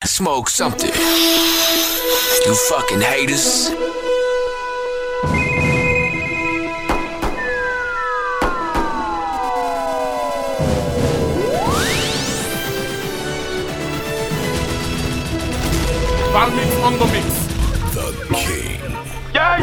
smoke something. You fucking haters. Valmix on the mix. The King. Yeah.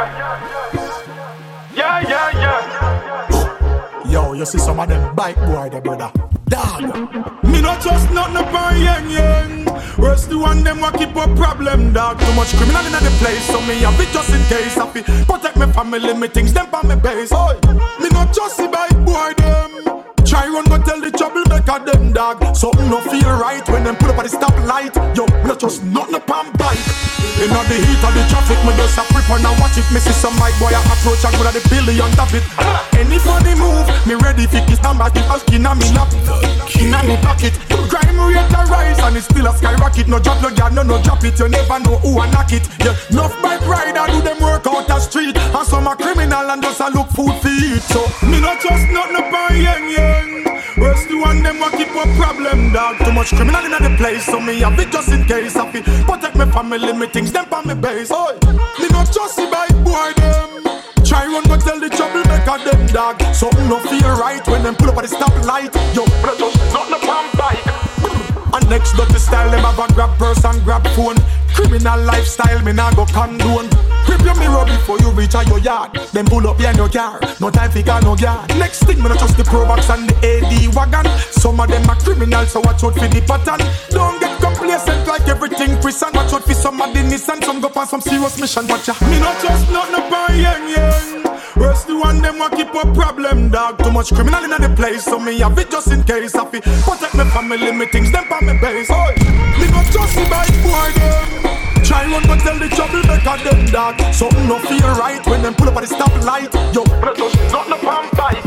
Yo, you see some of them bike boy there, brother. Dog. Me not just nothing upon yang. Rest the one them wa keep a problem, dog. Too much criminal in the place, so me have it just in case. I fi protect my family, me things them on me base. Oi, me not just see bike boy them. Try run go tell the troublemaker them, dog. Something no feel right when them put up at the stoplight. Yo, me not just nothing upon bike. In the heat of the traffic, me just a prep and I watch it. Me see some bike boy I approach and go to the billion of it. Any funny move, me ready for kiss number. Keep a skin on me lap, in on me pocket. Crime rate a rise and it's still a skyrocket. No drop no gun, no drop it. You never know who a knock it. Yeah, enough bike rider do them work out the street, and some a criminal and just a look food for eat. So me not just nothing upon yang. Rest the one them wa keep a problem, dog. Too much criminal in the place, so me have it just in case. I fi protect my family, me things them on me base. Oi, me not just see bike boy them. Try run go tell the troublemaker them, dog. Something no feel right when them pull up at the stoplight. Yo, me just nothing upon bike. And next dirty style, them have a grab purse and grab phone. Criminal lifestyle, me nah go condone. Grip your mirror before you reach out your yard. Then pull up behind your car, no time for car, no guard. Next thing, me not trust the Probox and the AD wagon. Some of them are criminals, so watch out for the pattern. Don't get complacent like everything Christian. Watch out for some of the Nissan, some go on some serious mission. Watch ya, me not trust nothing upon yang. Rest the one them wa keep a problem, dog. Too much criminal in the place, so me have it just in case. I fi protect my family, me things them on me base. Oi, me not just see bike boy them. Try run but tell the troublemaker them, dog. Something no feel right when them pull up at the stoplight. Yo, me not just nothing upon bike.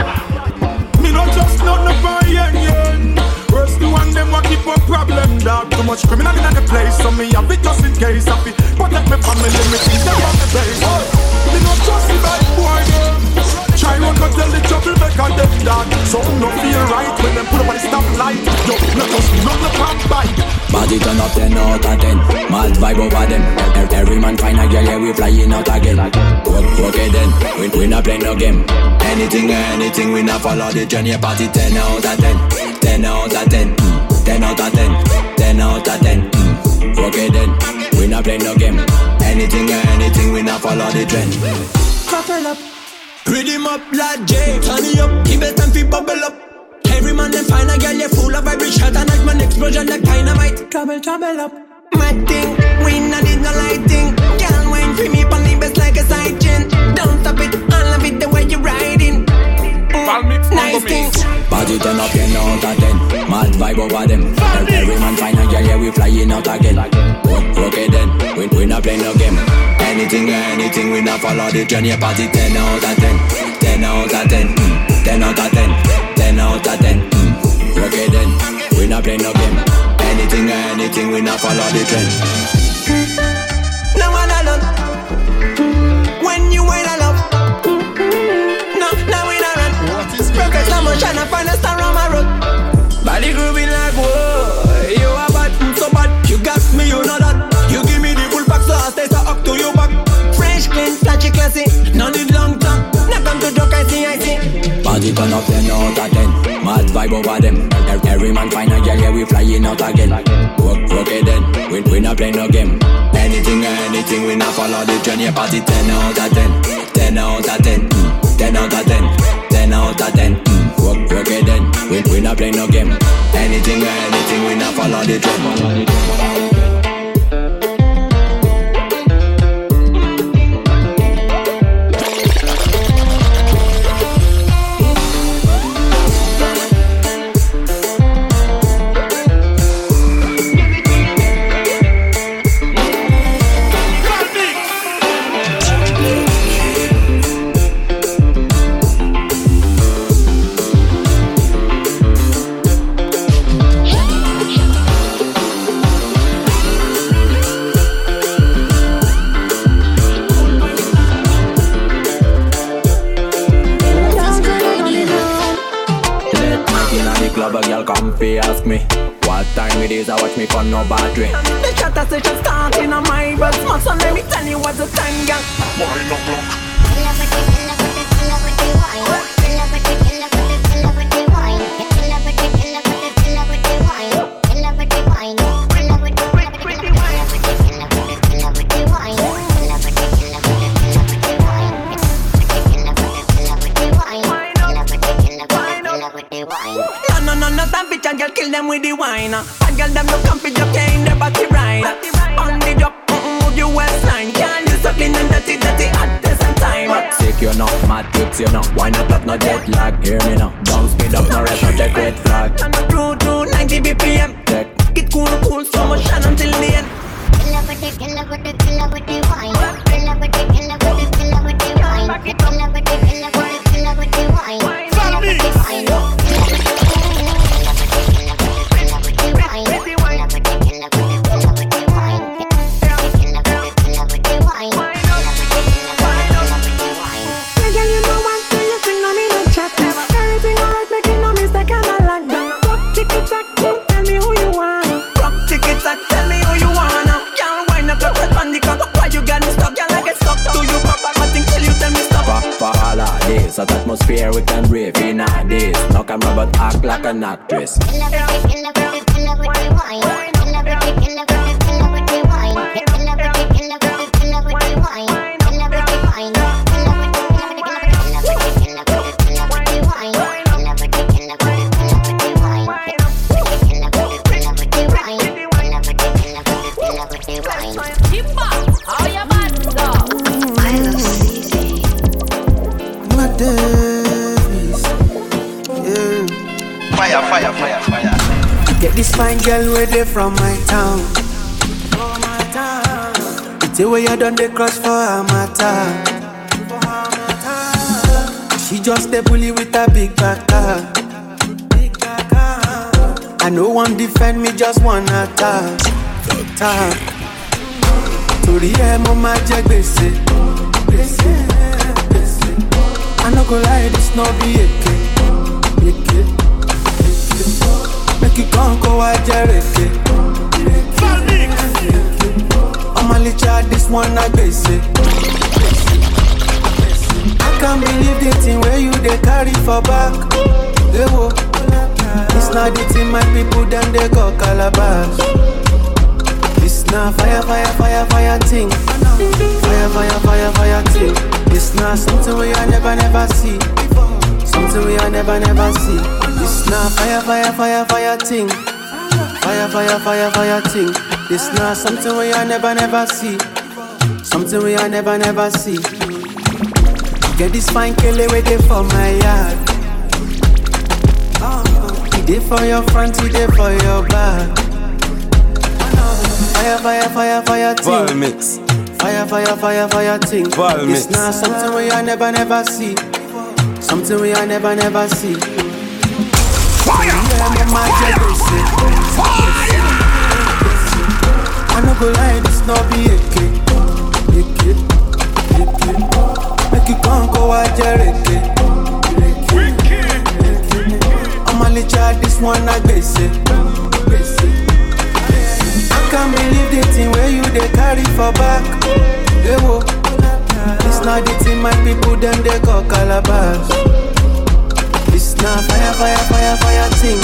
Me not just nothing upon yang. Rest the one them wa keep a problem, dog. Too much criminal in the place, so me have it just in case. I fi protect my family, me things them on me base. Oi, me not just see bike boy them. Try run but tell the troublemaker them, dog. Something no feel right when them pull up at the stoplight. Yo, me not just nothing upon bike. Body turn up 10 out of 10. Mad vibe over them. Every man find a girl, yeah, we flying out again. Okay then, we not play no game. Anything, we not follow the journey. Party 10 out of 10. 10 out of 10. 10 out of 10. 10 out of 10. Okay then, we not play no game. Anything, we not follow the trend. Couple up, rhythm up like J. Turn it up, give it time fi bubble up. Every man them find a girl, you full of vibration and like man explosion like dynamite. Trouble up. Mad thing, we not need no lighting. Girl wine for me pon the best like a side chain. Don't stop it, I love it the way you riding. Nice thing. Body turn up 10 out of 10. Mad vibe over them. Every man find a girl, yeah, we flying out again. Okay then, we not play no game. Anything, we not follow the journey. Party 10 out of 10. 10 out of 10. 10 out of 10. 10 out of 10. Okay then, we not play no game. Anything, we not follow the trend. No one alone. When you wait alone. No, we not run. Rocket slow motion, I find a star on my road. Body grooving like whoa. You are bad, so bad. You got me, you know that. You give me the full pack, so I stay so up to your back. Fresh, clean, flashy, classy. No need long tongue. Not come to joke, I see. Body turn up 10 out of 10. Mad vibe over them. Every man find a girl, yeah, we flying out again. Okay then, we not play no game. Anything, we not follow the journey. Party 10 out of 10. 10 out of 10. 10 out of 10. 10 out of 10. Okay then, we not play no game. Anything, we not follow the trend. me days I watch me fun no battery. The chatter session starting on my bus. So let me tell you what's the time, gang. Wine up block. No, that bitch and girl kill them with the wine. And girl them look comfy, just in their body right. On the drop, move your waistline. Can't you so clean and dirty at the same time. Sick you know, mad tips you know. Wine up no jet lag, hear me now. Don't speed up, no rest, no check red flag. And the crew to 90 BPM. Check. Get cool, slow motion until the end. Killer with the wine. Killer with the wine. Killer with the wine. Follow me. So that atmosphere we can brave in our days. No camera but act like an actress. Get this fine girl where they from my town. It's the way you done the cross for her matter. She just a bully with a big back car. I no one defend me, just one attack. To the end of my jack, they say. I no go lie, this no be a make you can't go out Jereke. I'm a little this one I guess it. I can't believe the thing where you they carry for back. It's not the thing my people then they go calabash. It's not fire thing. Fire thing. It's not something we I never see. Something we I never see. It's not fire thing. Fire thing. It's not something we I never see. Something we I never see. Get this fine kele where they for my yard. He did for your front, he did for your back. Fire thing. Vol mix. Fire thing. Vol mix. It's not something we I never see. Something we I never see. Fire! I no go lie, this no be a kid. Make you can't go out Jereke. I'm a little this one I guess it. I can't believe the thing where you they carry for back. It's not the thing my people then they go calabash. It's not fire thing.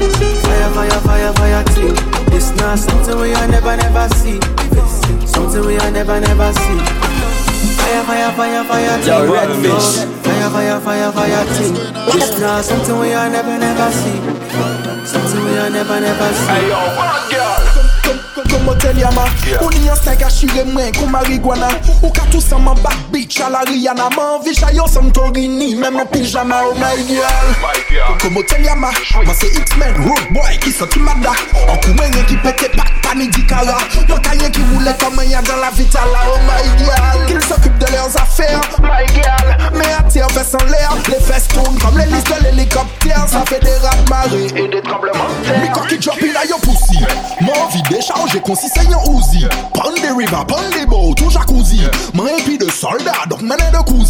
Fire thing. It's not something we I never see. Something we I never see. Fire thing. Yo, red fish. Fire thing. It's not something we I never see. Something we I never see. Hey yo, what girl? Como tell ya ma, ou ni yon snag a shire mwen kon marijuana. Ou ka tout san man back bitch a la Rihanna. Man vi chayo Santorini, même mon pyjama, oh my girl. Como tell ya ma, man se X-Men, road boy qui sorti mada. En kou mwen yon ki pete pak pani di kara. Yon ka yon ki roule comme yon dans la vitala, oh my girl. Qu'ils s'occupent de leurs affaires, my girl. Mais attire fesses en l'air, les fesses tournent comme l'hélice de l'hélicoptère. Ça fait des rats de marée et des tremblements de terre. Mais quand qui drop in a yon poussi, mon vie déchargé kon si c'est yon Uzi. Pon de river, pon de boat, ou jacuzzi. Man épi de soldat, donc mené de cousine.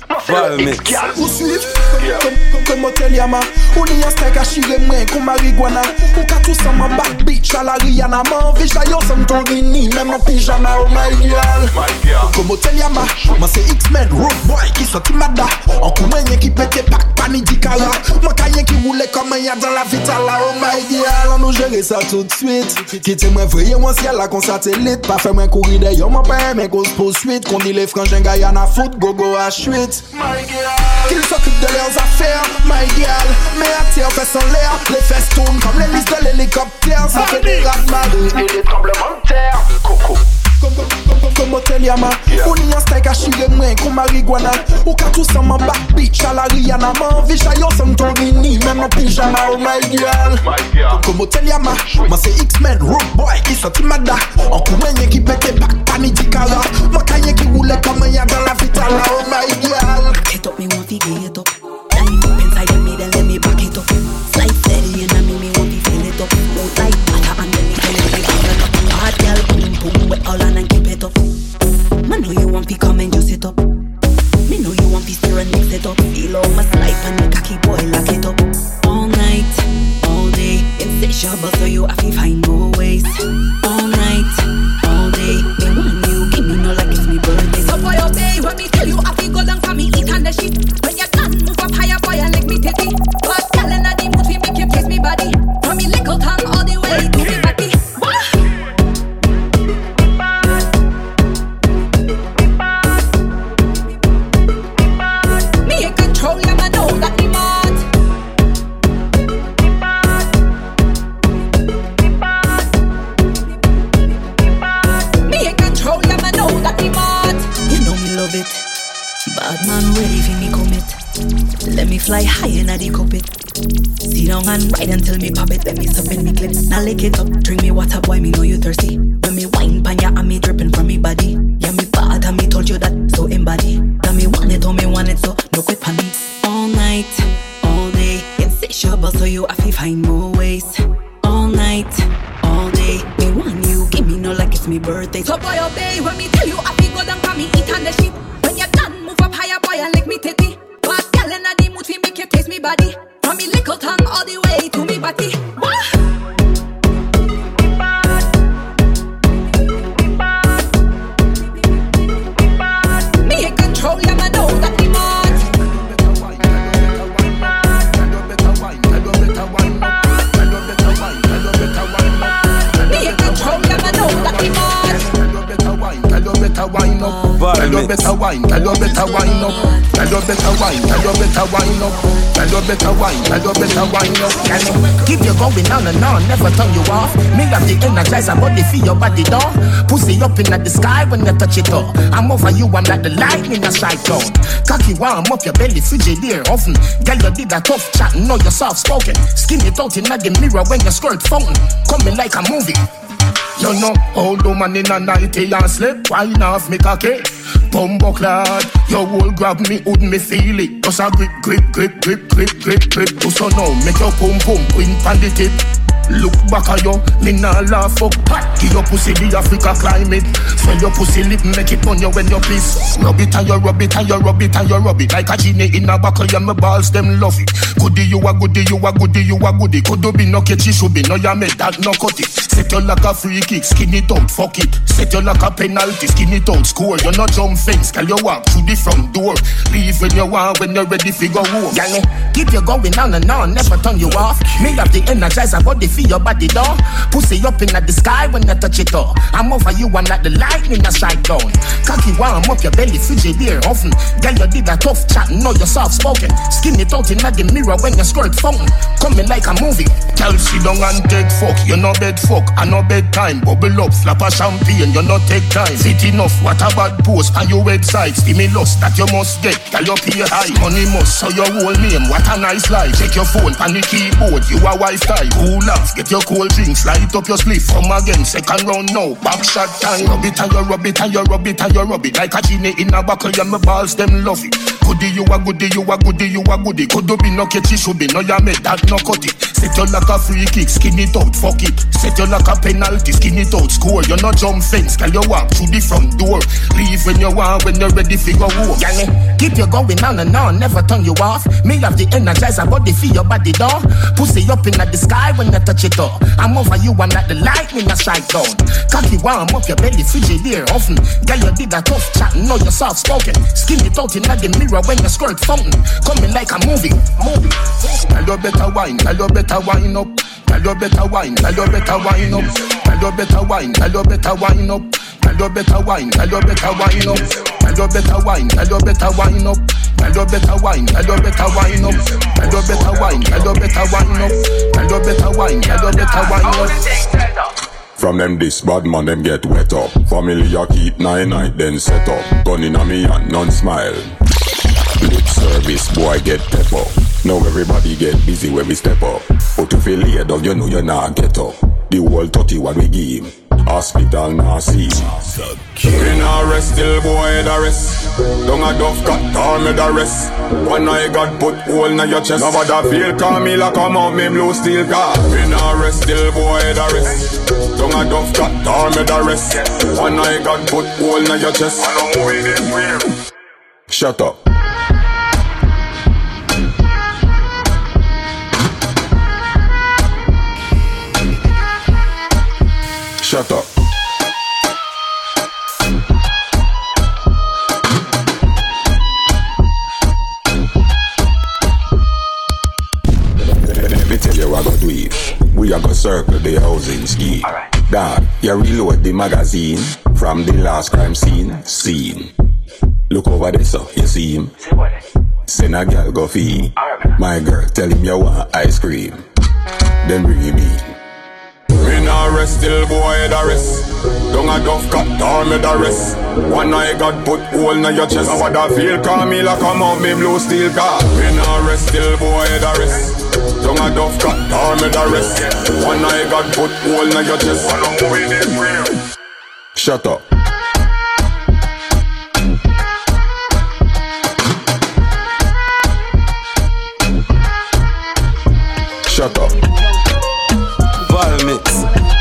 Follow me. Ou suiv, comme motel yama. Ou ni yon steak a chire mwen kon marijuana. Ou ka tout sama back bitch a la Rihanna. Man vich la yo sam ton rini, même en pyjama, oh my girl. Comme motel yama, man se X-Men, road boy qui sorti mada. En kou mwen qui pète pak pani di kala. Man kayen qui roule comme un y'a dans la vitala, oh my girl. On nous gérer ça tout de suite. Quitte moi vreye moi ciel la kon satellite. Pas fait moi courir d'ailleurs, mon père mais cause poursuite. Qu'on dit les frangins Guyana foot, gogo à chuite. Qu'ils s'occupent de leurs affaires, my girl. Mais à terre fait son l'air. Les fesses tournent comme les listes de l'hélicoptère. Ça fait des raz-de-marée et des tremblements de terre. Coco. Comme motel yama. Ou ni yon steak a chire mwen kon marijuana. Ou ka tout sama back bitch a la Rihanna. Man vich a yo sam ton rini, même en pyjama, oh my girl. Comme motel yama, man se X-Men, road boy qui sorti mada. En kou mwen qui pète pak pani di kala. Man kayen qui roule comme un y'a dans la vitala, oh my girl. Get up, me want to get it up. Dive up inside of me, then let me back it up. Slide steady and I me want to feel it up. Out like butter underneath, and let me back it up. Hard girl, boom boom, with all on and keep it up. Man know you want to come and just sit up. Me know you want to stir and mix it up. Feel all my slide and the cocky boy lock it up. All night, all day, insatiable, so you have to find more ways. All night, all day, me want you, give me no like it's me birthday. So boy, obey when me tell you, I feel go down for me, eat on the shit. When you done, move up higher, boy, and like me titty. But girl in the mood, we make you kiss me body. From me little tongue all the way to me body. Me in control, yeah, I know that me mad. Me in control, yeah, I know that me mad. You know me love it. Bad man ready for me commit. Let me fly high in the cockpit. Sit down and ride until me pop it. Let me sup in me clip. Now lick it up. Drink me water, boy, me know you thirsty. When me wine pan ya and me dripping from me body. Yeah, me bad and me told you that, so embody. That me want it, oh me want it, so no quit pan me. All night, all day, insatiable, so you have to find more ways. All night, all day, me want you, give me no like it's me birthday. So boy, obey when me tell you, I feel go down for me, eat on the shit. When you're done, move up higher, boy, and lick me titty. But girl in the mood, we make you taste me body. From me little tongue all the way to me body. Me in control, yeah, I know that me mad. Me in control, yeah, I know that me mad. Tell you better wine up. Tell you better wine, tell you better wine up. Tell you better wine, tell you better wine up. Tell you better wine, tell you better wine up. Keep you going on and on, never turn you off. Me have the energizer body for your body door. Pussy up in the sky when you touch it all. I'm over you, I'm like the lightning a strike down. Cocky warm up your belly, Frigidaire oven. Girl, you did a tough chat, know you're soft spoken. Skin it out in the mirror when your skirt fountain. Coming like a movie. You know, old woman in a nightie and slip. Wine off me cocky. Bumbo clad, your whole grab me, would me feel it. Just a grip, grip, grip, grip, grip, grip, grip. So now make your pum pum queen pan the tip. Look back at you, me nah laugh up. Give your pussy the Africa climate. Swell your pussy lip, make it on you when you piss. Rub it and you rub it and you rub it and you rub it. Like a genie in a buckle, and my balls them love it. Goodie you a goodie, you a goodie, you a goodie. Could be no catchy, should be no ya make that no cut it. Set you like a free kick, skin it out, fuck it. Set you like a penalty, skin it out, score. You no jump fence, can you walk through the front door. Leave when you want, when you're ready for go home. Girl, keep you going on and on, never turn you off. Me have the energizer body for your body door. Pussy up in the sky when you touch it all. I'm over you, I'm like the lightning a strike down. Cocky warm up your belly, Frigidaire oven. Girl, you did a tough chat, know you're soft spoken. Skin it out in the mirror when you skirt fountain. Coming like a movie. Girl, sit down and take fuck. You no bed fuck, I no bedtime. Bubble up, flap a champagne, you no take time. Fit enough, what a bad post on your website. Stimulus that you must get, girl you pay high. Money must, so your whole name, what a nice life. Check your phone, pan the keyboard, you a wife type. Cool off, get your cold drinks, light up your spliff. Come again, second round now, back shot time. Rub it and you rub it and you rub it and you rub it. Like a genie in a buckle, and my balls them love it. Goodie, you a goodie, you a goodie, you a goodie. Could be no catch it, should be no ya make that no cut it. Set you like a free kick, skin it out, fuck it. Set you like a penalty, skin it out, score. You no jump fence, can you walk through the front door? Leave when you want, when you're ready for your war. Keep you going on and on, never turn you off. Me have the energizer, body feel your body down. Pussy up in the sky when you touch it all. I'm over you, I'm like the lightning I strike down. Cocky warm up your belly, Frigidaire often. Girl, you did a tough chat, know you're soft spoken. Skin it out in the mirror when you squirt fountain. Coming like a movie. Tell you better wine, tell you better wine up. Tell you better wine, tell you better wine up. Tell you better wine, tell you better wine up. Tell you better wine, tell you better wine up. Tell you better wine, tell you better wine up. Tell you better wine, tell you better wine up. Tell you better wine, tell you better wine up. Tell you better wine, tell you better wine up. From them this bad man them get wet up. Family a keep 9 night then set up. Gun in a me and none smile. Lip service boy get pep up. Now everybody get busy when we step up. But if you lay down you know you not get up. The whole 31 we give him. Hospital now see. We not rest till boy the rest. Don't a duff cut down me the rest. One eye got put hole in your chest. Nobody feel Camila come out me blue steel car. We not rest till boy the rest. Don't a duff cut down me the rest. One eye got put hole in your chest. Shut up. Shut up. Let me tell you what I go do it. We are gonna circle the housing scheme. Dad, you reload the magazine from the last crime scene. Look over there, so you see him. Send a girl go feed. My girl, tell him you want ice cream. Then bring him in. We not rest till boy the rest. Don't a duff cut down me the rest. One eye got put hole in your chest. I wanna feel Camila come out me blue steel car. We not rest till boy the rest. Don't a duff cut down me the rest. One eye got put hole in your chest. Shut up. Shut up. Mix.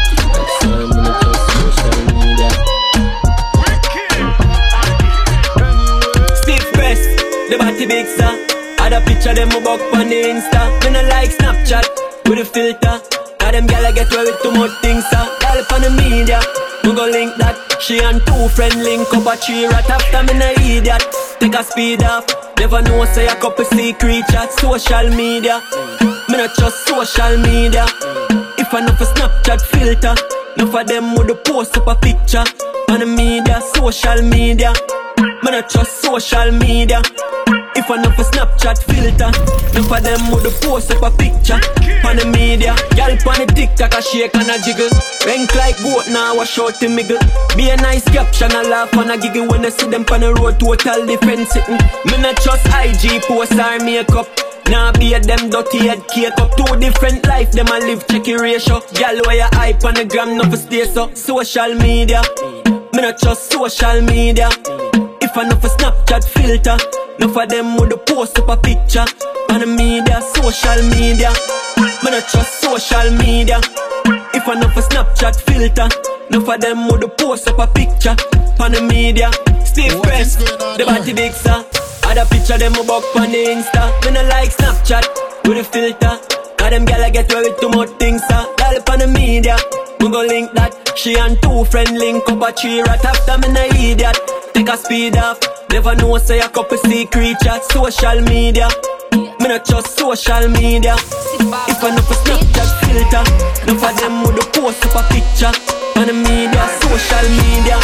Steve Press, the body big sir. Had a picture them up on the Insta. Me no like Snapchat with a filter. Now them gyal get away with too much things sir. Gyal on the media, we go link that. She and 2 friend link up a 3 rat after me no idiot. Take a speed off. Never know say a couple secret chat. Social media, me not trust social media. If I know for Snapchat filter, no for them would post up a picture on the media, social media. Me not trust social media. If I know for Snapchat filter, no for them would post up a picture on the media. Y'all on the TikTok a shake and a jiggle. Rank like goat now a short to miggle. Be a nice caption a laugh and a giggle when I see them on the road total different sitting. Me not trust IG post or makeup. Nah be a them dirty head cake up. 2 different life, them a live check your ratio. Y'all where you hype on the gram, no for stay so. Social media, me not trust social media. If I know for Snapchat filter, no for them would post up a picture on the media, social media. Me not trust social media. If I know for Snapchat filter, no for them would post up a picture on the media. Steve Press, the body big sir. Had a picture them up on the Insta. Me no like Snapchat with a filter. Now them gyal get away with too much things sir. Gyal on the media, we go link that. She and 2 friend link up a 3 rat after me no idiot. Take a speed off. Never know say a couple secret chat. Social media, me not trust social media. If I know for Snapchat filter, no for them would post up a picture on the media, social media.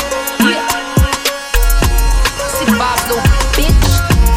See Pablo, bitch.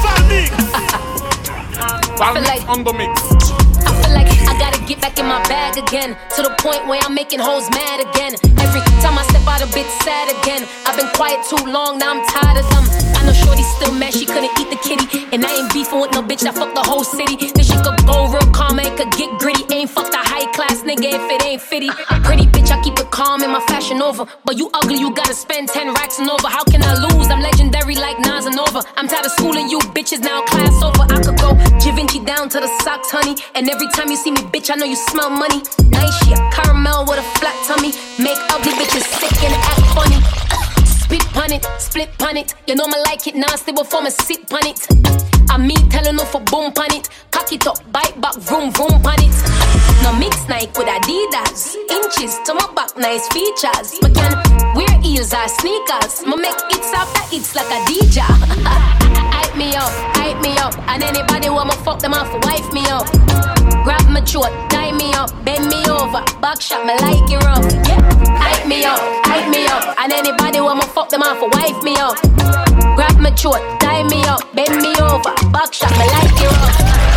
I feel like on the mix. I feel like I gotta get back in my bag again. To the point where I'm making hoes mad again. Every time I step out a bitch sad again. I've been quiet too long, now I'm tired of them. I know shorty's still mad, she couldn't eat the kitty. And I ain't beefing with no bitch that fucked the whole city. Then she could go real calm and could get gritty. Ain't fucked a high class nigga. nigga if it ain't fitty. Pretty bitch, I keep it calm in my fashion over. But you ugly, you gotta spend 10 racks and over. How can I lose? I'm legendary like Nas and Nova. I'm tired of schooling you bitches, now class over. I could go Givenchy down to the socks, honey. And every time you see me, bitch, I know you smell money. Nice shit, caramel with a flat tummy. Make ugly bitches sick and act funny. Spit pun it, split pun it. You know me like it nasty before me sit pun it. I me telling no for boom pun it. Cock it up, bite back, vroom vroom pun it. No mix Nike with Adidas. Inches to my back, nice features. Me can wear heels or sneakers. Me make hits after hits like a DJ. Hype me up, and anybody want me fuck them off, wife me up. Grab my throat, tie me up, bend me over, back shot me like it rough. Yeah. Hype me up, and anybody want me fuck them off, wife me up. Grab my throat, tie me up, bend me over, back shot me like it rough.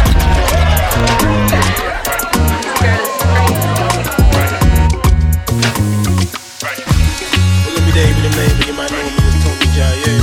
Well, let me Dave, the name, but you might know me as Tony Jai, yeah.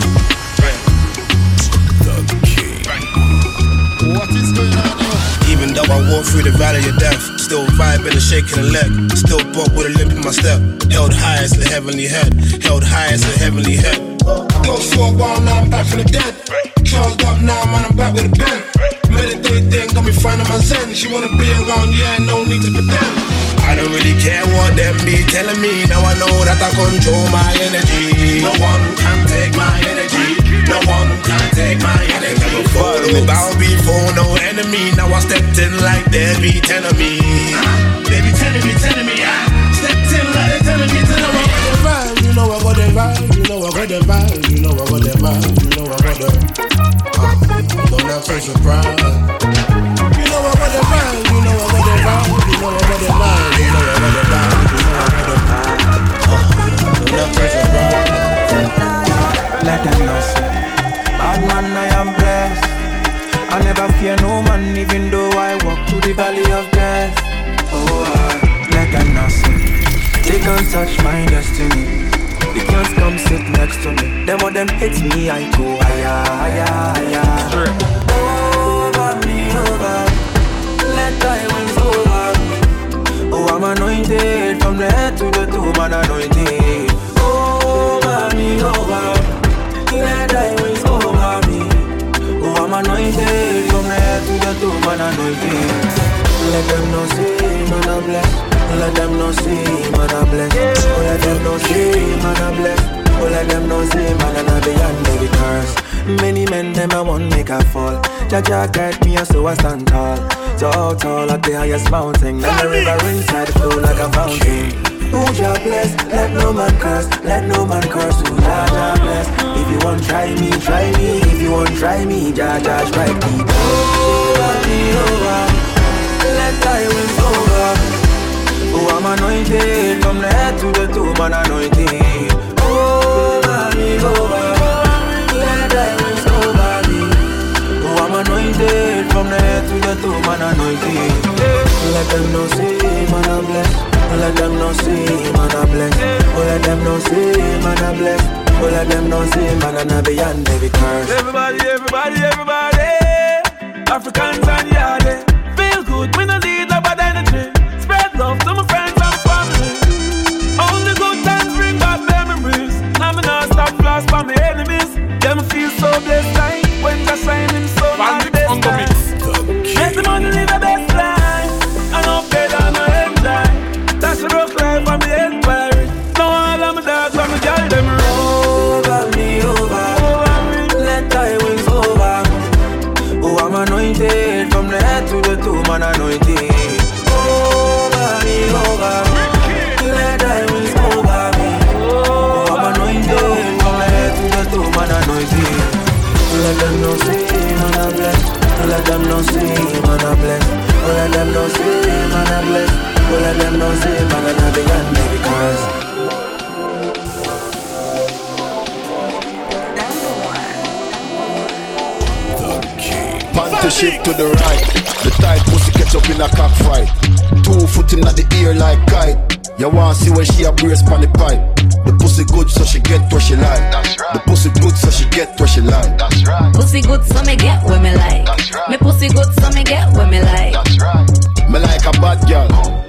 What is going on now? Even though I walk through the valley of death, still vibing and shaking a leg, still bop with a limp in my step. Held high as the heavenly head, held high as the heavenly head. Go for a while, now I'm back from the dead. Charged up now, man, I'm back with a pen. Meditate thing, got me finding my zen. She wanna be around, yeah, no need to pretend. I don't really care what them be telling me. Now I know that I control my energy. No one can take my energy. No one can take my energy. Never bow before no enemy. Now I stepped in like they be telling me. They be telling me, stepped in like they telling me, You know I got them vibe, you know I got them vibe, you know I got them vibe, you know I got them. Don't have to surprise. You know I got them vibe, you know I got them vibe, you know I got them vibe, you know I got them vibe, you know I got them vibe. Don't have to surprise. Let them know, say, bad man, I am blessed. I never fear no man, even though I walk through the valley of death. Oh, let them know, say, they can't touch my destiny. They can't come sit next to me. Them or them hits me, I go higher, higher, higher. Over me, over. Let thy wings over. Oh, I'm anointed from the head to the toe, man anointed. Over me, over. Let thy wings over me. Oh, I'm anointed from the head to the toe, man anointed. Let them know, say, man, I'm blessed. Let them know, say, man, I'm blessed. Oh, let them know, say, man, I'm blessed. Oh, let them know, say, man, I'm beyond every curse. Many men, them, I won't make a fall. Jaja guide me, so I stand tall. So tall at the highest mountain. And the river inside flow like a fountain. Oh, Jah bless, let no man curse. Let no man curse, oh, Jah bless. If you won't try me, try me. If you won't try me, Jah strike me. Over me, over. Let thy wings over. Oh, I'm anointed from the head to the toe, man anointed. Over me, over. Let thy wings over me. Oh, I'm anointed from the head to the toe, man anointed. Let them know, say, man, I'm blessed. Let them know, say, man, I'm blessed. Oh, let them know, say, man, I'm blessed. Oh, let them know, say, man, I'm beyond every curse. Everybody, everybody, everybody. Africans and Yardie. Feel good, we no need no bad energy. Spread love to my friends and family. Only good times bring back memories. Now me not stop floss for my enemies. Them feel so blessed like when they're shining so bright. Let the money live the best life. I know better than I enjoy. That's a rough life for me inquiry. No all of my dogs on me carry them over me, over. Let thy wings over. Oh, I'm anointed from the head to the toe, man anointed. Over me, over. Let thy wings over me. Oh, I'm anointed from the head to the toe, man anointed. Let them know, say, man I'm blessed. Let them know, say, man I'm blessed. Oh, let them know, say, man I'm blessed. Oh, let them know, say, man I'm beyond every curse. Panty shift to the right. The tight pussy catch up in a cockfight. 2 foot in the ear like kite. You want see where she a brace pon the pipe. The pussy good so she get where she like. That's right. The pussy good so she get where she like. That's right. Pussy good so me get where me like. That's right. Me pussy good so me get where me like. That's right. Me like a bad girl.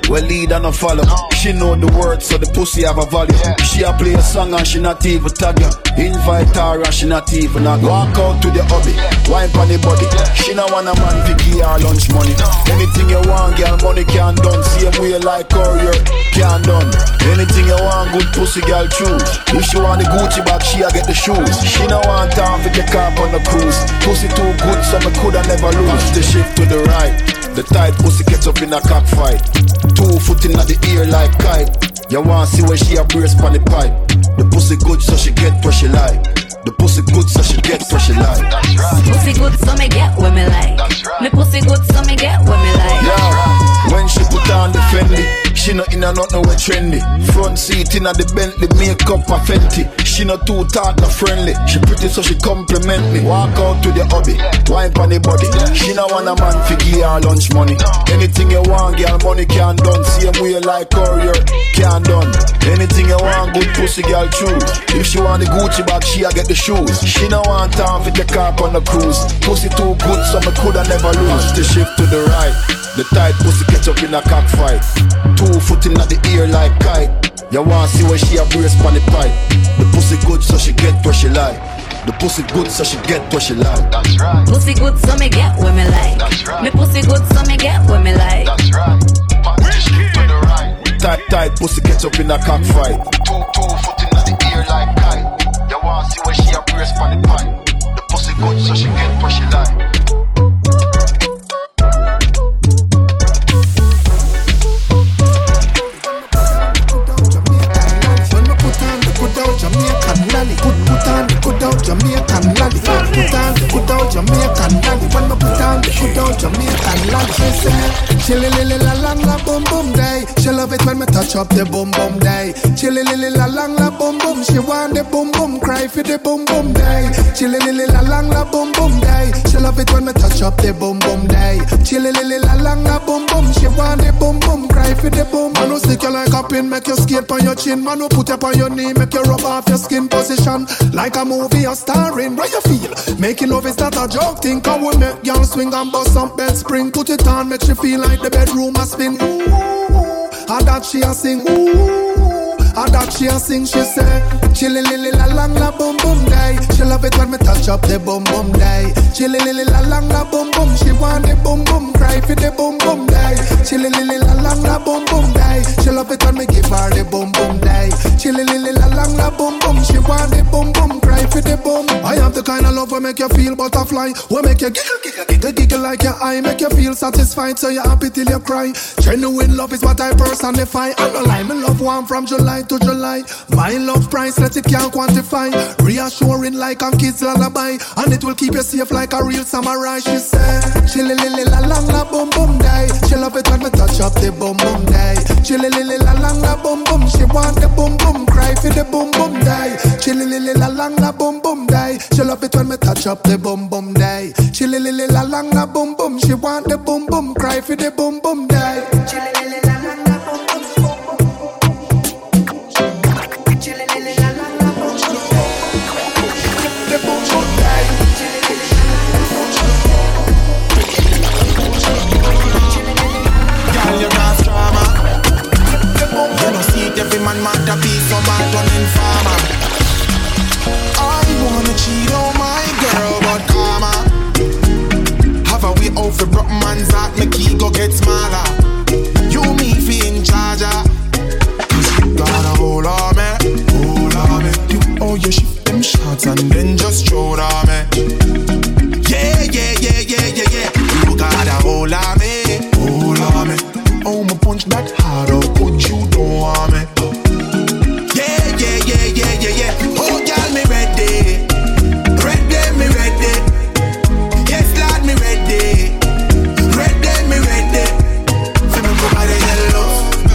well lead and a follow. She know the words, so the pussy have a value. She a play a song and she not even tag you. Invite her and she not even a walk out to the hobby. Wine on the body. She not want a man to give her lunch money. Anything you want, girl, money can done. Same way like courier, can done. Anything you want, good pussy girl choose. If she want the Gucci bag, she a get the shoes. She no want time for the car on the cruise. Pussy too good, so me coulda never lose. The shift to the right. The tight pussy gets up in a cockfight. 2 foot in the ear like kite. You want see where she a brace on the pipe. The pussy good, so she get what she like. The pussy good, so she get what she like. That's right. Pussy good, so me get what me like. That's right. Me pussy good, so me get what me like. Yeah, when she put on the Fendi, she not in a nothing with trendy. Front seat in a the Bentley, makeup a Fenty. She not too talk, not friendly. She pretty, so she compliment me. Walk out to the hobby, wine on the body. She not want a man to give her lunch money. Anything you want, girl, money can done. Same way like courier, can done. Anything you want, good pussy girl choose. If she want the Gucci bag, she a get the shoes. She no want time for the car on the cruise. Pussy too good, so me coulda never lose. The shift to the right. The tight pussy catch up in a cockfight. 2 foot in the ear like kite. You want see where she a brace on the pipe. The pussy good, so she get what she like. The pussy good, so she get what she like. That's right. Pussy good, so me get what me like. That's right. Me pussy good, so me get what me like. That's right. Shift to the right. Tight pussy catch up in a cockfight. 2 foot in the ear like kite. You want see where she a brace on the pipe. The pussy good, so she get what she like. Jamaican lolly, put on the good out Jamaican lolly, put on the good out Jamaican lolly. When me put on the good out Jamaican lolly, she say, chilly lily la lang la boom boom day. She love it when me touch up the boom boom day. Chilly lily la lang la boom boom. She want the boom boom, cry for the boom boom day. Chilly lily la lang la boom boom day. She love it when me touch up the boom boom day. Chilly lily la lang la boom boom. She want the boom boom, cry for the boom. Man who stick you like a pin, make you skate on your chin. Man who put you on your knee, make you rub off your skin position. Like a movie you're starring, where you feel? Making love is not a joke thing. Come we make y'all swing and bust some bed spring. Put it on, make you feel like the bedroom a spin. Ooh, and that she a sing. Ooh, and that she a sing. She say, chilly lily la lang la boom boom day. She love it when me touch up the boom boom day. Chilly lily la lang la boom boom. She want the boom boom, cry for the boom boom day. Chilly lily la lang la boom boom day. She love it when me give her the boom boom day. Chilly lily la lang la boom boom. She want the boom boom, cry for the boom. I have the kind of love will make you feel butterfly. Will make you giggle like your eye. Make you feel satisfied so you're happy till you cry. Genuine love is what I personify. I don't lie, me love one from July to July. My love priceless, it can't quantify. Reassuring like a kid's lullaby. And it will keep you safe like a real samurai. She said, chilly lily la lang la boom boom day. She love it when me touch up the boom boom day. Chilly lily la lang la boom boom. She want the boom boom, cry for the boom boom day. Chilly lily la lang la boom boom day. She love it when me touch up the boom boom day. Chilly lily la lang la boom boom. She want the boom boom, cry for the boom boom day. Chilly lily la lang la boom boom. Chilly lily la lang la boom boom. The boom boom day. Girl, you got drama. You don't see it, every man mad to be so bad running farmer. I wanna cheat on my girl, but karma. Have a way out for broke man's heart, make ego get smaller. You me fi in charge, cause you got a hold on me, hold on me. You oh you shift them shots and then just throw it on me. Yeah, yeah, yeah, yeah, yeah, yeah. You got a hold on me, hold on me. Oh my punch that hard, how could you don't want me? Yeah, yeah, yeah, yeah, yeah, yeah. Oh girl, me ready, ready, me ready. Yes, lad, me ready, ready, me ready. Feel me go by the yellow.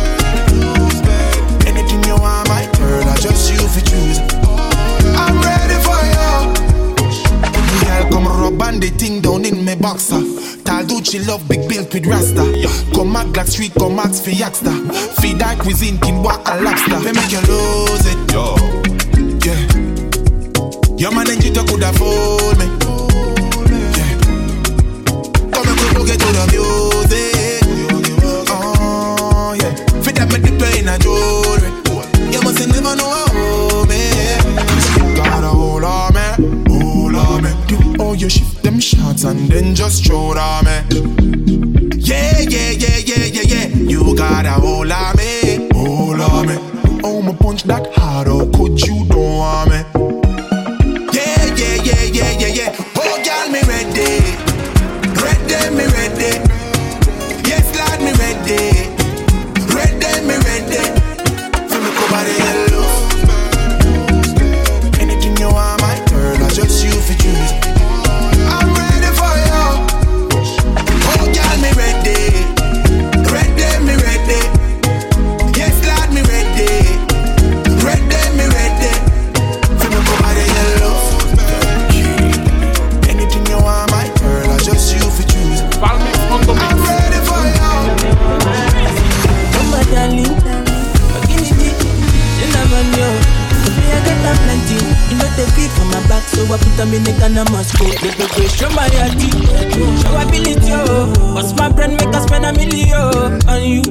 Anything you want, my girl, I just you fi choose. I'm ready for you. Girl, come rub and the thing down in me boxer. Talducci love big built with Rasta. Come back Black Street, come ask for Yaxter. Feed that cuisine, kin walk a lobster. They make you lose it, yo. Yeah. Your man and you could afford me. Yeah. Come and go get to the music. Oh yeah. you shift them shots and then just throw it on me. Yeah, you got a hold on me, hold on me. Oh, my punch that hard, oh, could you don't want me? Yeah. Oh, girl, me ready. Ready, me ready. Yes, lad, me ready. Ready, me ready. Feel me cover the yellow. Anything you want, my girl, I just you for choose. I'm ready for you. Oh, girl, me ready. Ready, me ready. Yes, lad, me ready. Ready, me ready. Feel me cover the yellow. Anything you want, my girl, I just you for choose. I'm ready for you. Oh my darling, give me the cinnamon, yo. Me I got a plenty, you know the beat for my back, so I put them in the gun, I must go. Baby, show my yardie, show ability, yo. What's my brand, make us spend $1 million on you.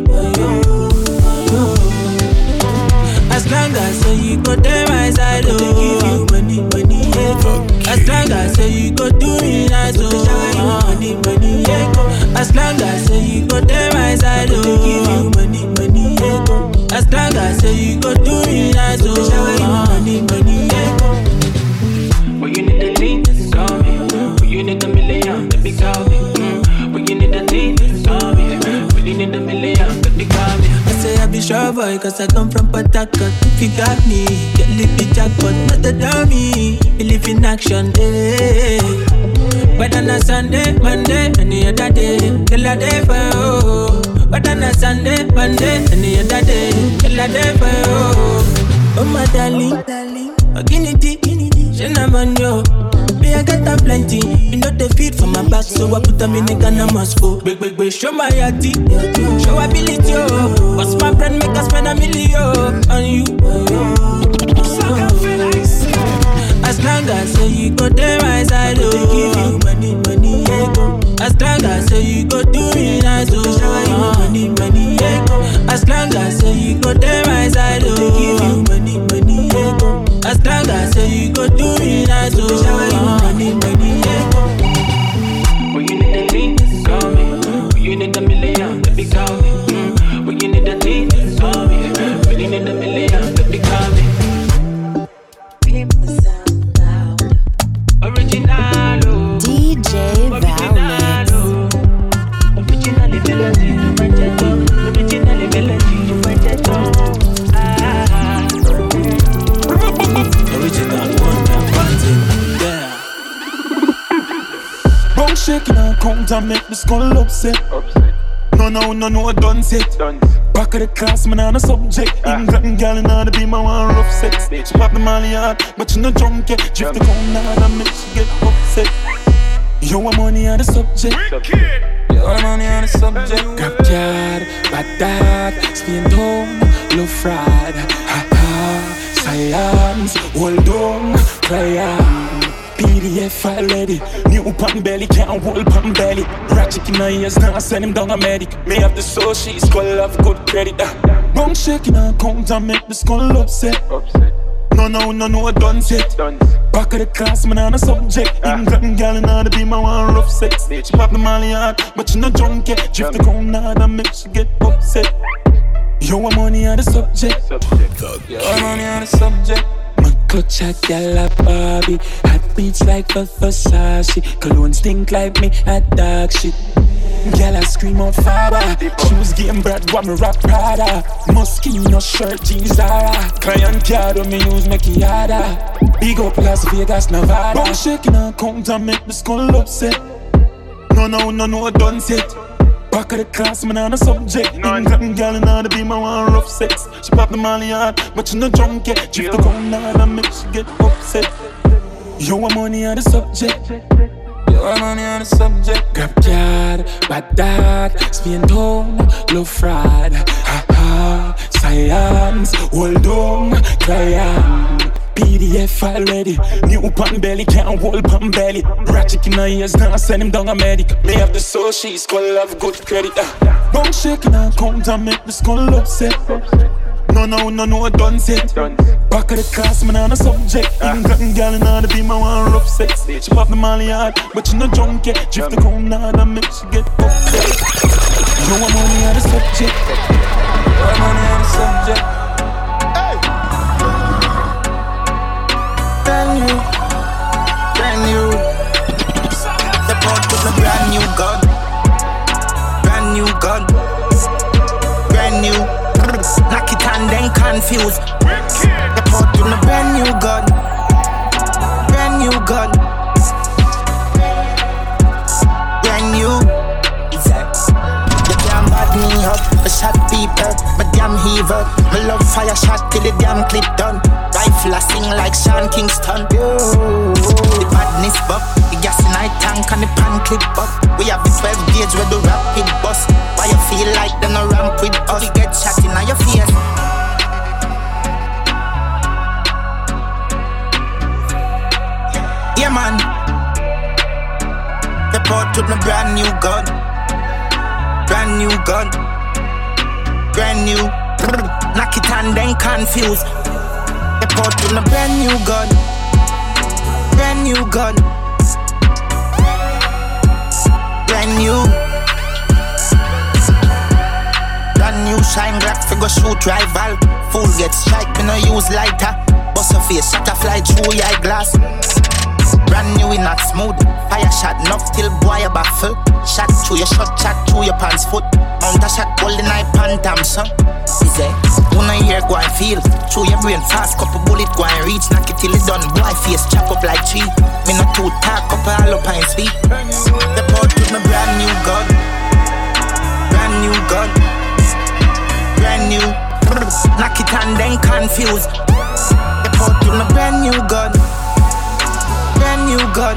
As long as you go there my side, oh, give you money, yeah. As long as you go do me nice, oh, money, yeah. As long as you go there my side, oh, give you money, yeah. As long as you go do me nice, oh, money, yeah. When you need a thing, call me. When you need $1 million, baby, call me. When you need a thing, call me. When you need $1 million, baby, call me. I say I be sure boy, cause I come from Port Harcourt. If you got me, get lippy jackpot, not a dummy. Believe in action, eh. But on a Sunday, Monday, any other day, till a day for you. But on a Sunday, Monday, any other day, till a day for you. Oh my darling, Guinea, cinnamon, yo. Me I got a plenty, you know the feed for my back, so I put them in the gun, I must go. Big, show my yardie, show ability, yo. What's my brand, make us spend $1 million on you. As long as you go there my side, oh, give you money, yeah. As long as you go do me nice, oh, money, yeah. As long as you go there my side, oh, give you money, yeah. As long as you go do me nice, oh, money, yeah. When you need a thing, call me. When you need $1 million, baby, call me. When you need a thing, call me. When you need $1 million, baby, call me. Original, DJ Valmix. Originally melody, you find it all. Originally melody, you find it all. Original one, yeah. Bone shaking and count and make the skull upset. No, done set. Back of the class, man, on a subject. England girl, in order to be my one rough sex. She pop the molly hard, but you no drunk yet. Drift the cone hard and make she get upset. You want money on the subject. You want money on the subject. Grab card, bad dad, spin down, low fraud. Ha ha, science, hold on, cry PDF file ready. New pan belly, can't hold pan belly. Ratchet in my ears, now send him down a medic. May have the soul, she's skull have good credit. Bone shaking and count and make the skull upset. No, done set. Back of the class, man, on a subject. England girl, in order to be my one rough sex. She pop the molly hard, but you no drunk yet. Drift the crown hard and make she get upset. You want money on the subject. You want money on the subject. Clutch a gal a Barbie. Hot beats like Versace. Cologne stink like me a dog shit. Gal a scream on fire. She was getting brat, what me rap Prada. Moschino shirt, jeans Zara. Client card when me use make harder. Big up Las Vegas, Nevada. Bone shaking and count and make the skull upset. No, done set. Back of the class, man, on a subject. England girl, in order to be my one rough sex. She pop the molly hard, but you no drunk yet. Drift the cone hard and make she get upset. You want money on the subject. You want money on the subject. Grab card, bad dad, spin down, low fraud. Ha ha, science, hold on, cry PDF file ready. New pan belly, can't hold pan belly. Ratchet in my ears, now send him down a medic. May have the soul, she's skull have good credit. Bone shaking and count and make the skull upset. No, done set. Back of the class, man, on a subject. England girl in order to be my one rough sex. She pop the molly hard, but she no drunk yet. Drift the cone hard and make she get upset. You know I'm only on the subject. I'm only on the subject. Hey! Brand new. The port with a brand new gun. Brand new gun. Brand new. Knock it and then confused. The port with a brand new gun. Brand new gun. Brand new. You can't bad me up. I shot people. My damn heaver. My love fire shot till the damn clip done. Rifle I sing like Sean Kingston. The badness buck. The gas in my tank and the pan clip up. We have the 12 gauge where the rapid bus. Why you feel like them a ramp with us? You get shot in your face. Yeah man. The port with my brand new gun. Brand new gun. Brand new. Knock it and then confused. The port with my brand new gun. Brand new gun. Brand new. Brand new shine black figure shoot rival. Fool get strike, me no use lighter. Bust a face, shot a fly through your eyeglass. Brand new, we not smooth. Fire shot enough till boy a baffle. Shot through your shot, shot through your pants foot. Mount a shot, golden eye pantam son. Is it? Una ear go and feel. Through your brain fast, couple bullet go and reach. Knock it till it done, boy face chop up like tree. Me not too talk, couple all up and speak. The port with my brand new gun. Brand new gun. Brand new. Knock it and then confused. The port with my brand new gun. Brand new gun.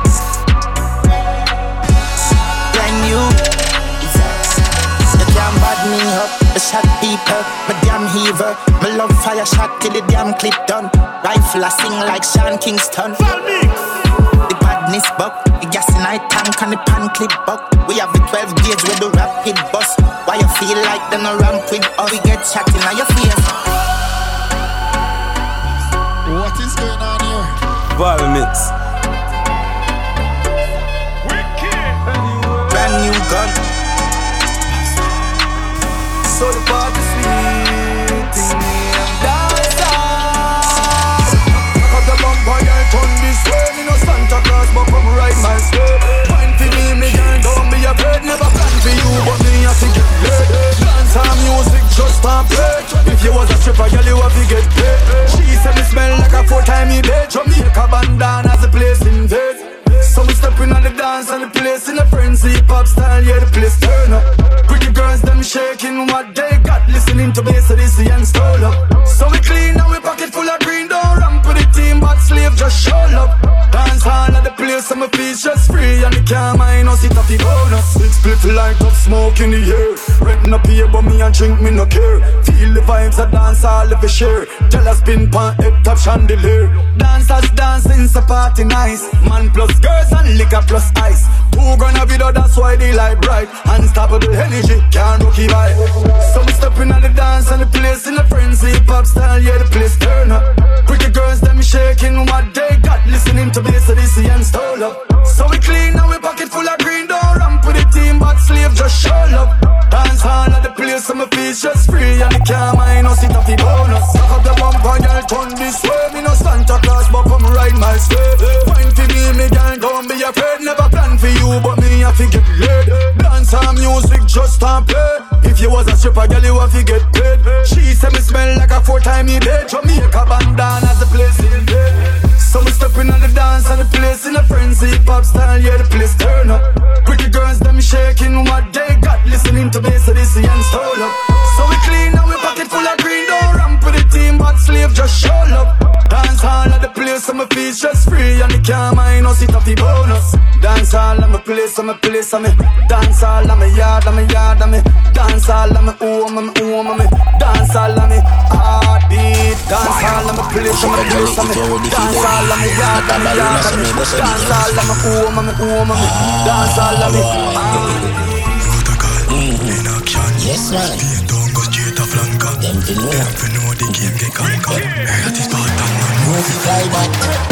Brand new. You can't bad me up. I shot people. My damn heaver. My love fire shot till the damn clip done. Rifle I sing like Sean Kingston. The badness buck. The gas in my tank and the pan clip buck. We have the 12 gauge with the rapid bus. Why you feel like them a ramp with us? We get shot in your face. What is going on here? Ball mix. Brand new gun. So the party sweet in me and dance out. Cut the bumper, girl, turn this way. Me no Santa Claus, but come right my way. Wine for me girl, don't be afraid. Never plan for you, but me have to get laid. Dance and music just stop play. If you was a stripper, girl, you have to get paid. She said me smell like a 4-time bed. Jamaica bandana as a place in bed. So we stepping on the dance and the place in a frenzy. Pop style, yeah, the place turn up. Pretty girls, them shaking what they got. Listening to bass of this and stole up. So we clean and we pocket full of green. Don't ramp with the team, but slave just show up. Dance hall at the place and my feet just free. And the car mine, no sit up the bonus. Big split light up smoke in the air. Renting up here, but me and drink, me no care. Feel the vibes of dance all of the share. Tell us spin pan head top chandelier. Dancers dancing, so party nice. Man plus girls and liquor plus ice. 2 grand a video, that's why they like bright. Unstoppable energy, can't rock it by. So we stepping on the dance and the place in a frenzy. Pop style, yeah, the place turn up. Pretty girls, them shaking what they got. Listening to bass of this and stole up. So we clean and we pocket full of green. Don't ramp with the team, but slave just show up. Dance hall at the place and my feet just free. And the car mine, no sit up the bonus. Suck up the bumper, girl, turn this way. Me no Santa Claus, but come ride my slave. Wine for me girl, don't be afraid. Never plan for you, but me have to get laid. Dance and music just stop play. If you was a stripper, girl, you have to get paid. She said me smell like a 4-time bed. Jamaica bandana as a place in bed. So we stepping on the dance and the place in a frenzy. Pop style, yeah, the place turn up. Pretty girls, them shaking what they got. Listening to bass of this and stole up. So we clean and we pocket full of green. Don't ramp with the team, but slave just show up. Dance hall at the place and my feet just free. And the car mine, no sit up the bonus. Dance hall at my place and my place and me. Dance hall at my yard and my yard and me. Dance hall at my home and my home and me. Dance hall at me heartbeat. Dance hall at my place and my place and me. Dance hall at my yard and my yard and me. Dance hall at my home and my home and me. Dance hall at me heartbeat. Yes, man. Don't go straight to flanker. Them fi know. Them fi know the game get conquered. That is part of my movie. Fly back.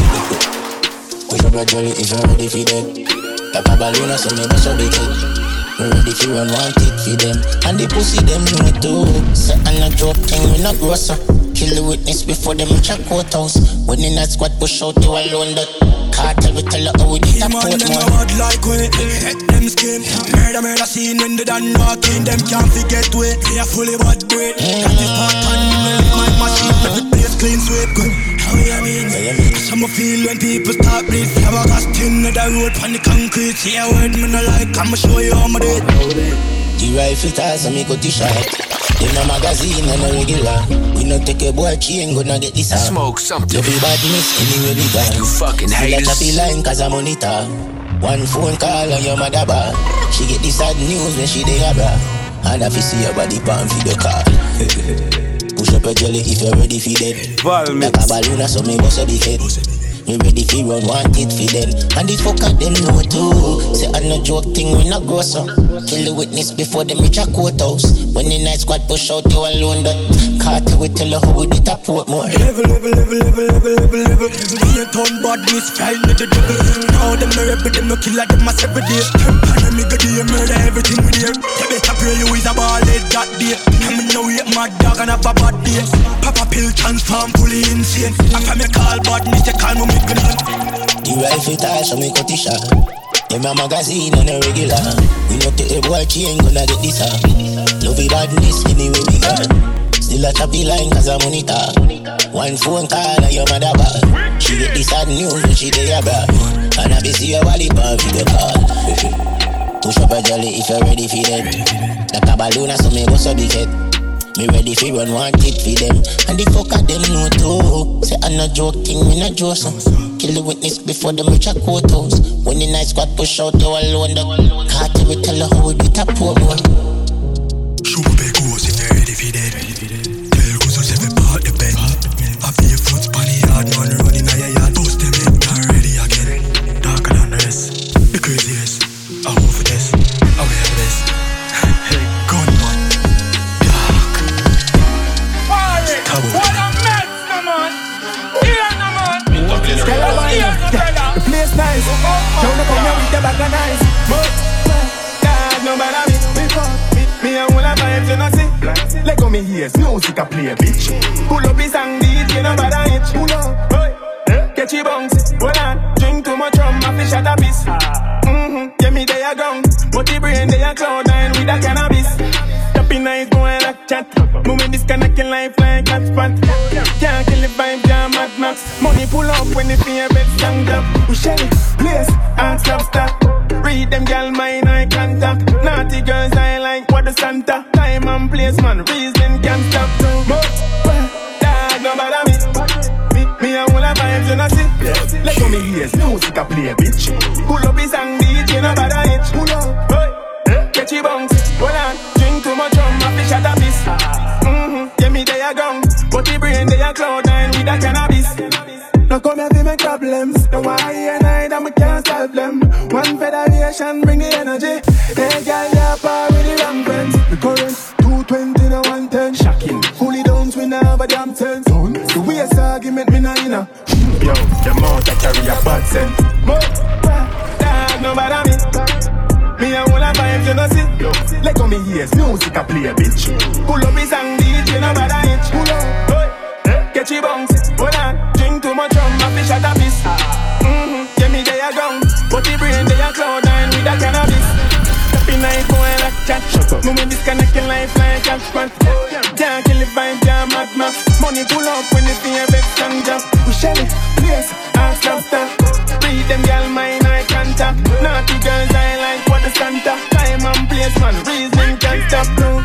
Push up your jolly if you're ready for them. Like a balloon, so me bust a big head. Me ready for run one tick for them. And the pussy them know it too. Say I'm not joke thing, we not gross up. Kill the witness before them reach a courthouse. When in that squad push out, you alone that. Cartel we tell you how we did a port them more. a bad like we hit them skin. Murder scene when they done knocking. Them can't forget we. We are fully bad breed. That is part on me. My machine make the place clean sweep. How you mean? Some feel when people start bleed. Flower gas tin on the road on the concrete. See a word me no like. I'ma show you how me do it. The rifle toss and me cut the shot. In a magazine and a regular. We no take a boy chain, gonna get this out. Smoke something. Love you badness anyway we gone. You fucking haters. Still a choppy line cause I monitor. One phone call and your mother bar. She get the sad news when she dey abra. And if you see your body pan for the car. Push up your jelly if you're ready for dead. Like a balloon so me bust a big head. Me ready for run one tit for them. And the fuck at them know too. Say I'm no joke thing we not gross up. Kill the witness before them reach a courthouse. When the night squad push out you alone that. Cartel we tell you how we did a Portmore. Level. Me a ton badness flying with the devil. Now them no rebel, them no killer, them a every day. And me go do you murder everything we dare. You better pray you is a ball head that day. And me know we mad dog and have a bad day. Papa pill transform fully insane. After me call badness, they call me make me none. The rifle toss so me cut the shot. Them a magazine and a regular. We no take a boy chain, gonna get this out. Love you badness anyway we got. Still a choppy line cause I monitor. One phone call and your mother bar. She get the sad news when she dey abroad. And I be see your wallet pan for the call. Push up a jolly if you're ready for them. Like a balloon so me bust a big head. Me ready for run one tit for them. And the fuck at them know too. Say I'm not joke thing, we not joke some. Kill the witness before them reach a courthouse. When the night squad push out you alone the cartel we tell you how we did a Portmore. Shoot up a ghost if you're ready for dead. Tell goose to seven part the bed. I feel your foot span the yard, man running on your yard. Post them in, not ready again. Darker than the rest. The craziest, I hope for this. I wear this. Hey, gunman. Dark. What a mess, no man. Here, no man. The place nice. Don't come here with the bag of nice. But God, no matter me and all the vibes you know see. Let go me hears music a play, bitch. Pull up his song, DJ no bother itch. Pull up, hey, catch your bounce. Hold on, drink too much rum, I fish at a piece. Yeah, me they are gone, but the brain they are cloud nine with a cannabis. Tapping nice boy like chat. Moving this connecting life like hot spot. Can't kill the vibe, jam Mad Max. Money pull up when the fear bed stand up. We shell it, place, and stop. Read them gal mine eye contact. Naughty girls I like what the Santa. Time and place man, reason can't stop. Dog no bother me and all the vibes you know see. Let go me hears music a play, bitch. Pull up his song, DJ no bother itch. Pull up, hey, catch your bounce. Hold on, drink too much rum, I fish at a piece. Yeah me they are gone, but the brain they are cloud nine with a cannabis. Now come here to make problems. Now why and I that we can't solve them. One federation bring the energy. Hey girl, you're par with the wrong friends. The current 220 to 110. Shocking. Fully downs we now have a damn sense. The waste argument me now you know. Yo, the mouth that carry a bad sense. Dog no bother me and all the vibes you know see. Let go me hears music a play, bitch. Pull up his song, DJ no bother itch. Pull up, catch your bounce. Hold on, drink too much rum, I fish at a piece. Yeah, me they are gone, but the brain they are cloud nine with a cannabis. Tapping night boy like chat. Moving disconnecting life like a spot. Can't kill the vibe, jam Mad Max. Money pull up when the fear bed stand up. We shell it, place, and stop. Read them gal mine eye contact. Naughty girls I like what the Santa. Time and place man, reason can't stop.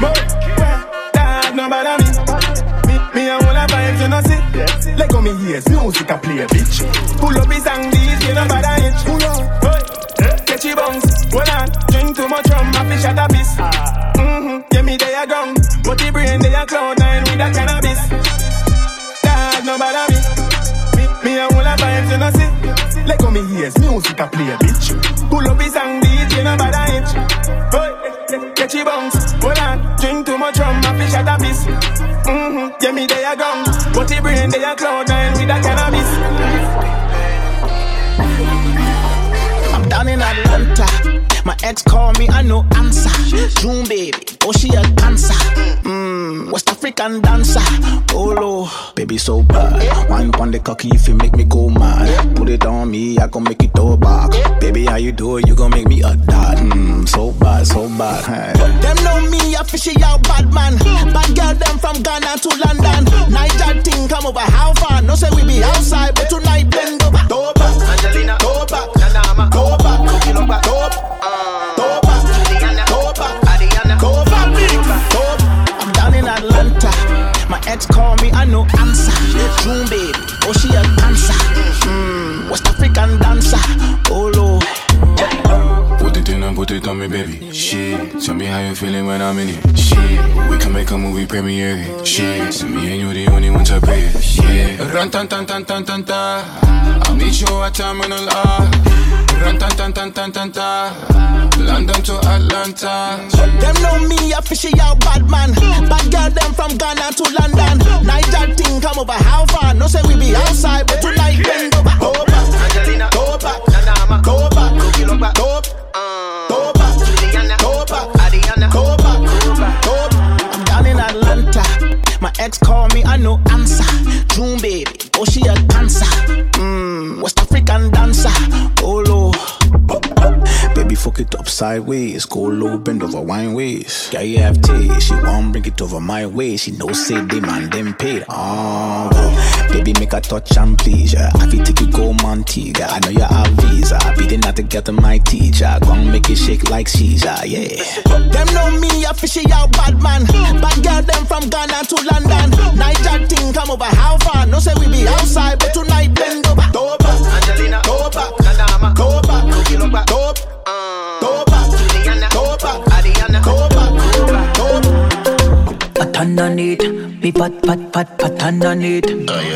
Dog no bother me and all the vibes you know see. Let go me hears music a play, bitch. Pull up his song, DJ no bother itch. Pull up, hey, catch your bounce. Hold on, drink too much rum, I fish at a piece. Yeah me they are gone, but the brain they are cloud nine with a cannabis. Dog no bother me and all the vibes you know see. Let go me hears music a play, bitch. Pull up his song, DJ no bother itch. Hey, catch your bounce. Hold on. Drink too much rum, I fish at a miss. Yeah, me they are gone, but the brain they are cloud nine with a cannabis. I'm down in Atlanta. My ex call me, I no answer. June baby, oh she a cancer. West African dancer. Oh Lord, baby so bad. Wine pon the cocky if you make me go mad. Put it on me, I gon' make it throw back. Baby, how you do it? You gon' make me a dad. So bad, so bad. Hey. Them know me, I fishy out bad man. Bad girl, them from Ghana to London. Niger thing come over, how far? No say we be outside, but tonight bend over. Go back, Angelina. Go back, Nanama. Go back, Kilo back. Go back. I'm down in Atlanta. My ex call me, I no answer. June baby, oh she a cancer. West African dancer. Oh Lord. Put it in and put it on me, baby. Shit, tell me how you feeling when I'm in it. Shit, we can make a movie premiere. Shit, so me and you the only ones to pay. Yeah, run tan tan tan tan tan ta. I'll meet you at Terminal R. Run tan tan tan tan tan ta. London to Atlanta. Them know me, I fishy out bad man. Bad girl, them from Ghana to London. Niger thing come over, how far? No say we be outside, but tonight bend over. Go back, Angelina. Go back, Nanama. Go back, Kilo back. Go back. Go back, Juliana. Go back, Adiana. Go back, go back. I'm down in Atlanta. My ex call me, I no answer. June baby, oh she a cancer. West African dancer. Oh Lord. Baby, fuck it up sideways. Go low, bend over wine ways. Yeah, you have taste. She won't bring it over my way. She know say the man them paid. Baby, make a touch and please. Yeah, I feel take you go Montego. I know you have visa. Beating not to get to my teacher. Gonna make it shake like Caesar. Yeah. Them know me, I fishy out bad man. Bad girl, them from Ghana to London. Niger thing come over, how far? No say we be outside, but tonight bend over. Go back, Angelina. Go back, Nanama. Go back, Kilo back. Go back. Go back, Juliana. Go back, Adiana. Go back, go back. Pat underneath, me pat underneath.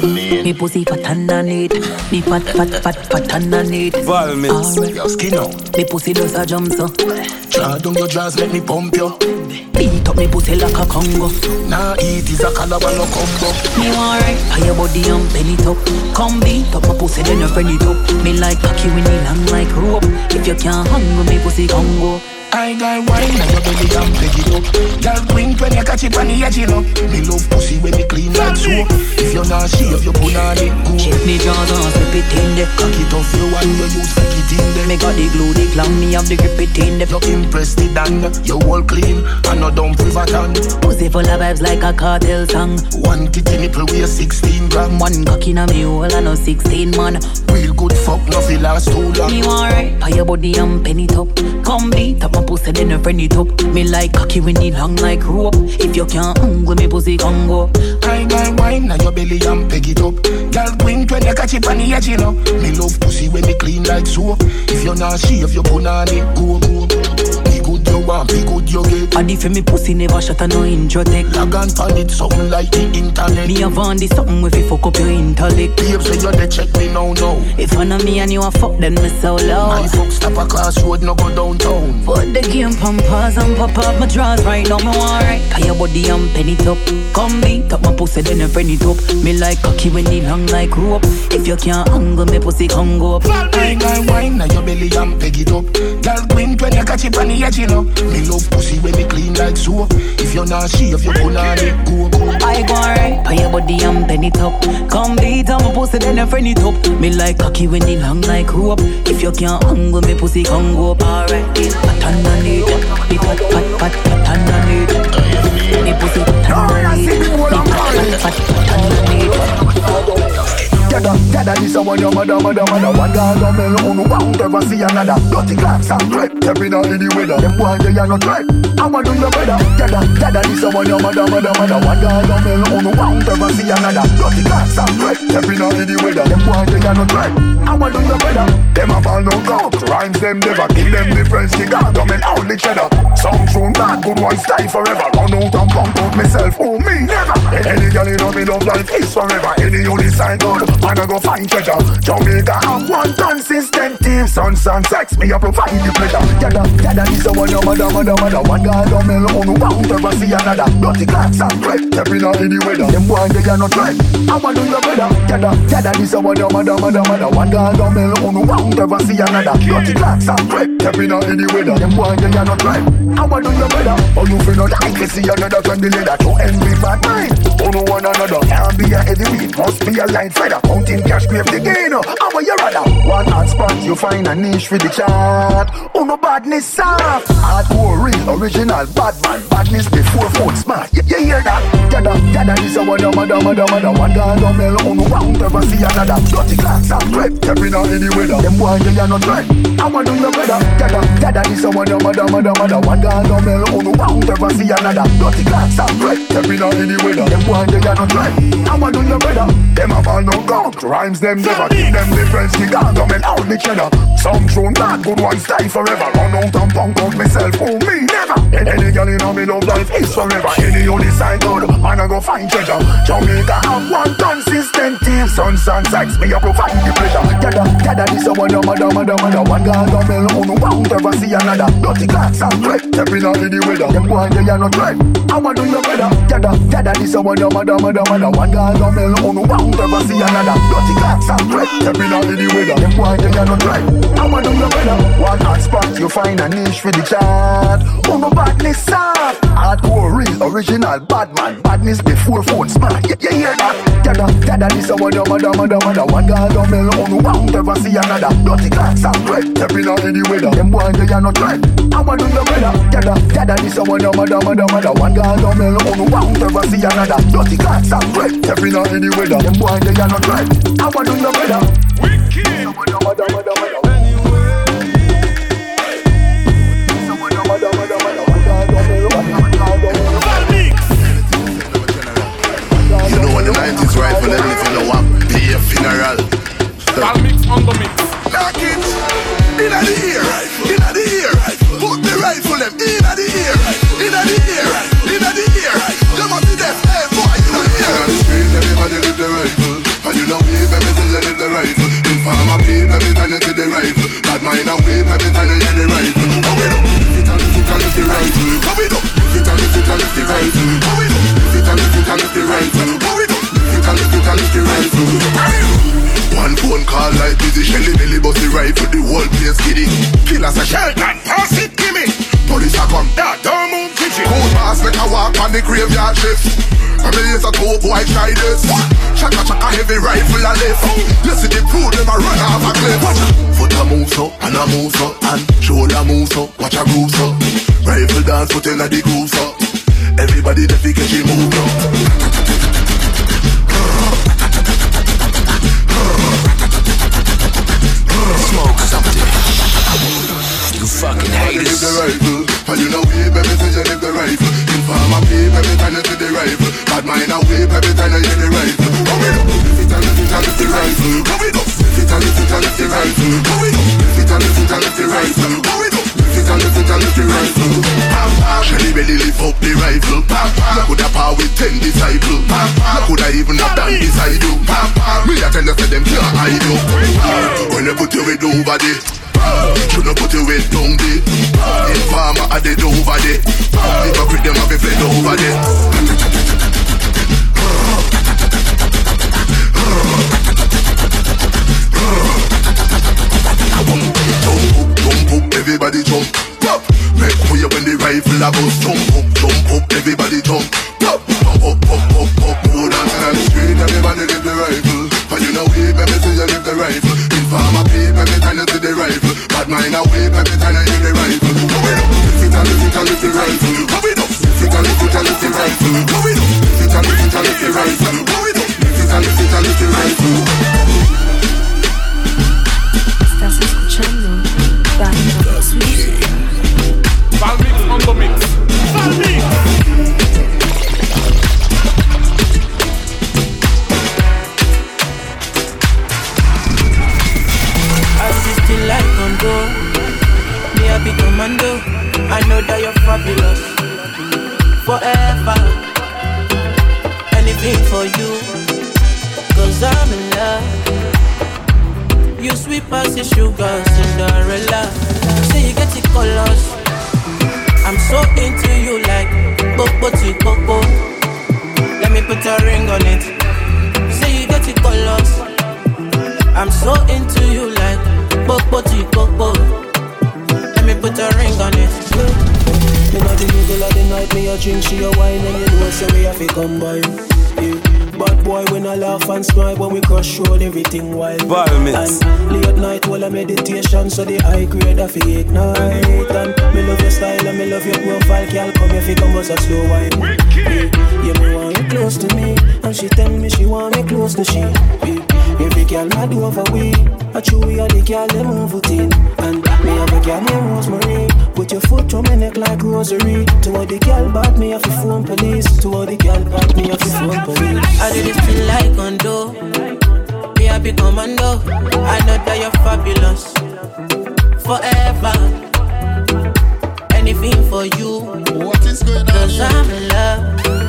Me pussy pat underneath, me pat underneath. Valmix, your skin out. Me pussy does a jump so. Draw down your jaws, let me pump you. Beat up me pussy like a Congo. Nah, eat is a calabar no combo. Me want right, pay your body and bend it up. Come beat up my pussy, then you friend it up. Me like cocky when it long like rope. If you can't hang with me pussy Congo. I got wine and your belly and pick it up. Girl, wink when you catch it on the edge, you know. Me love pussy when me clean like soap. If you're not shave, you put on it go. Check me jaws and slip it in there. Cock it off you and you use flick it in there. Me got the glue, the clam, me have the grip it in there. You impress the dan, you all clean and no dumb privaton. Pussy full of vibes like a cartel song. One titty nipple weigh 16 gram. One cock in a me hole and no 16 man. Real good fuck, no feel last too long. Me want right, pay your body and pen it up. Come beat up my pussy, then you friend it up. Me like cocky when it long like rope. If you can't hang with me pussy Congo. I got wine and your belly and peg it up. Girl, wink when you catch it on the edge, you know. Me love pussy when me clean like soap. If you're not shave, you put on it go. Be good you want, be good you get. And if me pussy never shut a no intro tech. Log on pan it, something like the internet. Me have on this something if you fuck up your intellect. Babes say you dey check me now. If I know me and you a fuck, then me so loud. My fuck stop a crossroad, no go downtown. Put the game pause and pop up my drawers right now, me want right. Pay your body and pen it up. Come beat up my pussy, then you friend it up. Me like cocky when it long like rope. If you can't hang with me pussy Congo. I got wine and your belly and peg it up. Girl, wink when you catch it on the edge, you know. Me love pussy when me clean like soap. If you're not shave, you put on it go. I go right, pay your body and pen it up. Come beat up my pussy, then you friend it up. Me like cocky when it long like rope. If you can't hang with me pussy Congo. Alright, pat underneath, me pat underneath. Me pussy pat underneath, me pat underneath. Gather this a one your mother. One girl on me alone, won't ever see another. Dirty glass and crepe, stepping out in the weather. Them boy they are not right, I'ma do your better. Gather this a one your mother. One girl on me alone, won't ever see another. Dirty glass and crepe, stepping out in the weather. Them boy they are not right, I'ma do your better. Them a fall no count, rhymes them never kill them difference. The God on me only cheddar. Some tune bad, good one style forever. Run out and pump out myself, oh me never. Any girl in me love life is forever. Any only sign God. and I go find treasure. Jamaica have one consistent team. Sun, sex, me a provide the pleasure. Yada, this a one, your mother. One guy don't mail on, won't ever see another. Dirty clocks and crap, stepping out in the weather. Them boy, they are not right. I want to do your better. Yada, this a one, your mother. One guy don't mail on, won't ever see another. Dirty clocks and crap, stepping out in the weather. Them boy, they are not right. I want to do your better. Oh, you feel not like to see another can be leather. To envy bad mind. Oh, no one another. Can't be a heavyweight, must be a line feather. Counting cash, grave the gain. How are you rather? One hot spot, you find a niche for the chart. Oh, no badness soft. Hardcore, real, original, bad man. Badness before phone smart. You hear that? Yada, this a one, your mother. One guy don't mail on, won't ever see another. Dirty clocks and crap, stepping out in the weather. Them boy, they are not right. I want to do your better. Yada, this a one, your mother. One guy don't mail on, won't ever see another. Dirty clocks and crap, stepping out in the weather. Them boy, they are not right. I want to do your better. Them have all no count. Rhymes them never give them difference. The government out the cheddar. Some throne bad, good ones die forever. Run out and punk out myself. Oh, me never. Any girl in me love life is forever. Any on this side good, man I go find treasure. Jamaica have one consistent team. Sun, sex, me a provide the pleasure. Yada, this a one, your mother. One guy don't mail on, won't ever see another. Dirty clocks and crap, stepping out in the weather. Them boy, they are not right. I want to do your better. Yada, this a one, your mother. One guy don't mail on, won't ever see another. Dirty clocks and crap, stepping out in the weather. Them boy, they are not right. I want to do your better. One hot spot, you find a niche for the chart. Oh, no badness soft. Hardcore, real, original, bad man. Badness before phone smart. You hear that? Yada, this a one, your mother. One guy don't mail on, won't ever see another. Dirty clocks and crap, stepping out in the weather. Them boy, they are not right. I want to do your better. Yada, this a one, your mother. One guy don't mail on, won't ever see another. Dirty clocks and crap, stepping out in the weather. Them boy, they are not right. I want to do your better. Wicked. You know when the 90s rifle and if you know what, be a funeral. I'll mix on the mix. Knock it inna the ear, inna the ear. Put the rifle them inna the ear, inna the ear, inna the ear. Them up to death, hey boy, you know here. On the street, everybody live the rifle, and you know wave every time you live the rifle. Informer peep every time you see the rifle. Bad mind and wave every time you hear the rifle. How we do? Lift it and lift the rifle. How we do? Lift it and lift the rifle. How we do? Lift it and lift the rifle. How we do? Lift it and lift the rifle. One phone call like busy Shelly belly bust the rifle, the whole place giddy. Killers a shell and pass it, gimme. Police a come, don't move kitchen. Cold pass make a walk on the graveyard shift. I mean it's a top white try this. Chaka heavy rifle a lift. You see the pool them a run off a cliff. Foot a move so, and a move so, and shoulder move so, watch a groove so. Rifle dance foot inna the groove so. Everybody the fi catch move now. Smoke something. You fucking haters. The rifle, and you know wave every time you live the rifle. Informer peep every time you see the rifle. Bad mind and wave every time you hear the rifle. How we do? Lift it and lift the rifle. How we do? Lift it and lift the rifle. How we do? Lift it and lift the rifle. How we do? Lift it and lift the rifle. Shelly belly lift up the rifle. You coulda power with 10 disciples. You coulda even have done beside you. Me a tell you say them can't hide you. When you put your head over there, you don't put your head down there. Informer a dead over there. Hypocrite them have a fled over there. Jump up, everybody jump. Pop, make way when the rifle a bust. Jump up, everybody jump. Pop, up. Go dancing on the street, everybody live the rifle. And you know wave every time you live the rifle. Informer peep every time you see the rifle. Bad mind a wave every time you hear the rifle. How we do? Lift it and lift the rifle. How we do? Lift it and lift the rifle. How we do? Lift it and lift the rifle. How we do? Lift it and lift the rifle. Estás escuchando Valmix on the mix. Valmix. Assisting like Congo, me a big commando. I know that you're fabulous. Forever, anything for you. 'cause I'm in love. You sweet past sugar, Cinderella. Say you get the colors. I'm so into you like Bobo. Let me put a ring on it. Say you get the colors. I'm so into you like Bobo. Let me put a ring on it. Me not the middle of the night, me a drink, she a wine, and you know say we have to come by. Bad boy when I laugh and smile when we crush road, everything wild. And late night while I meditation, so the high grade I feel ignite. And me love your style and me love your profile, girl. Come here, come us a slow wine. Yeah, me want you close to me, and she tell me she want me close to she. Every girl mad over we, I chew we are the girl they move it in. And me have a girl named Rosemary. Put your foot on my neck like rosary. To all the girl bad me have to phone police. To all the girl bad me have to phone police. I did it feel like condo. Me a big commando. I know that you're fabulous. Forever. Anything for you. What is going on? 'Cause I'm in love.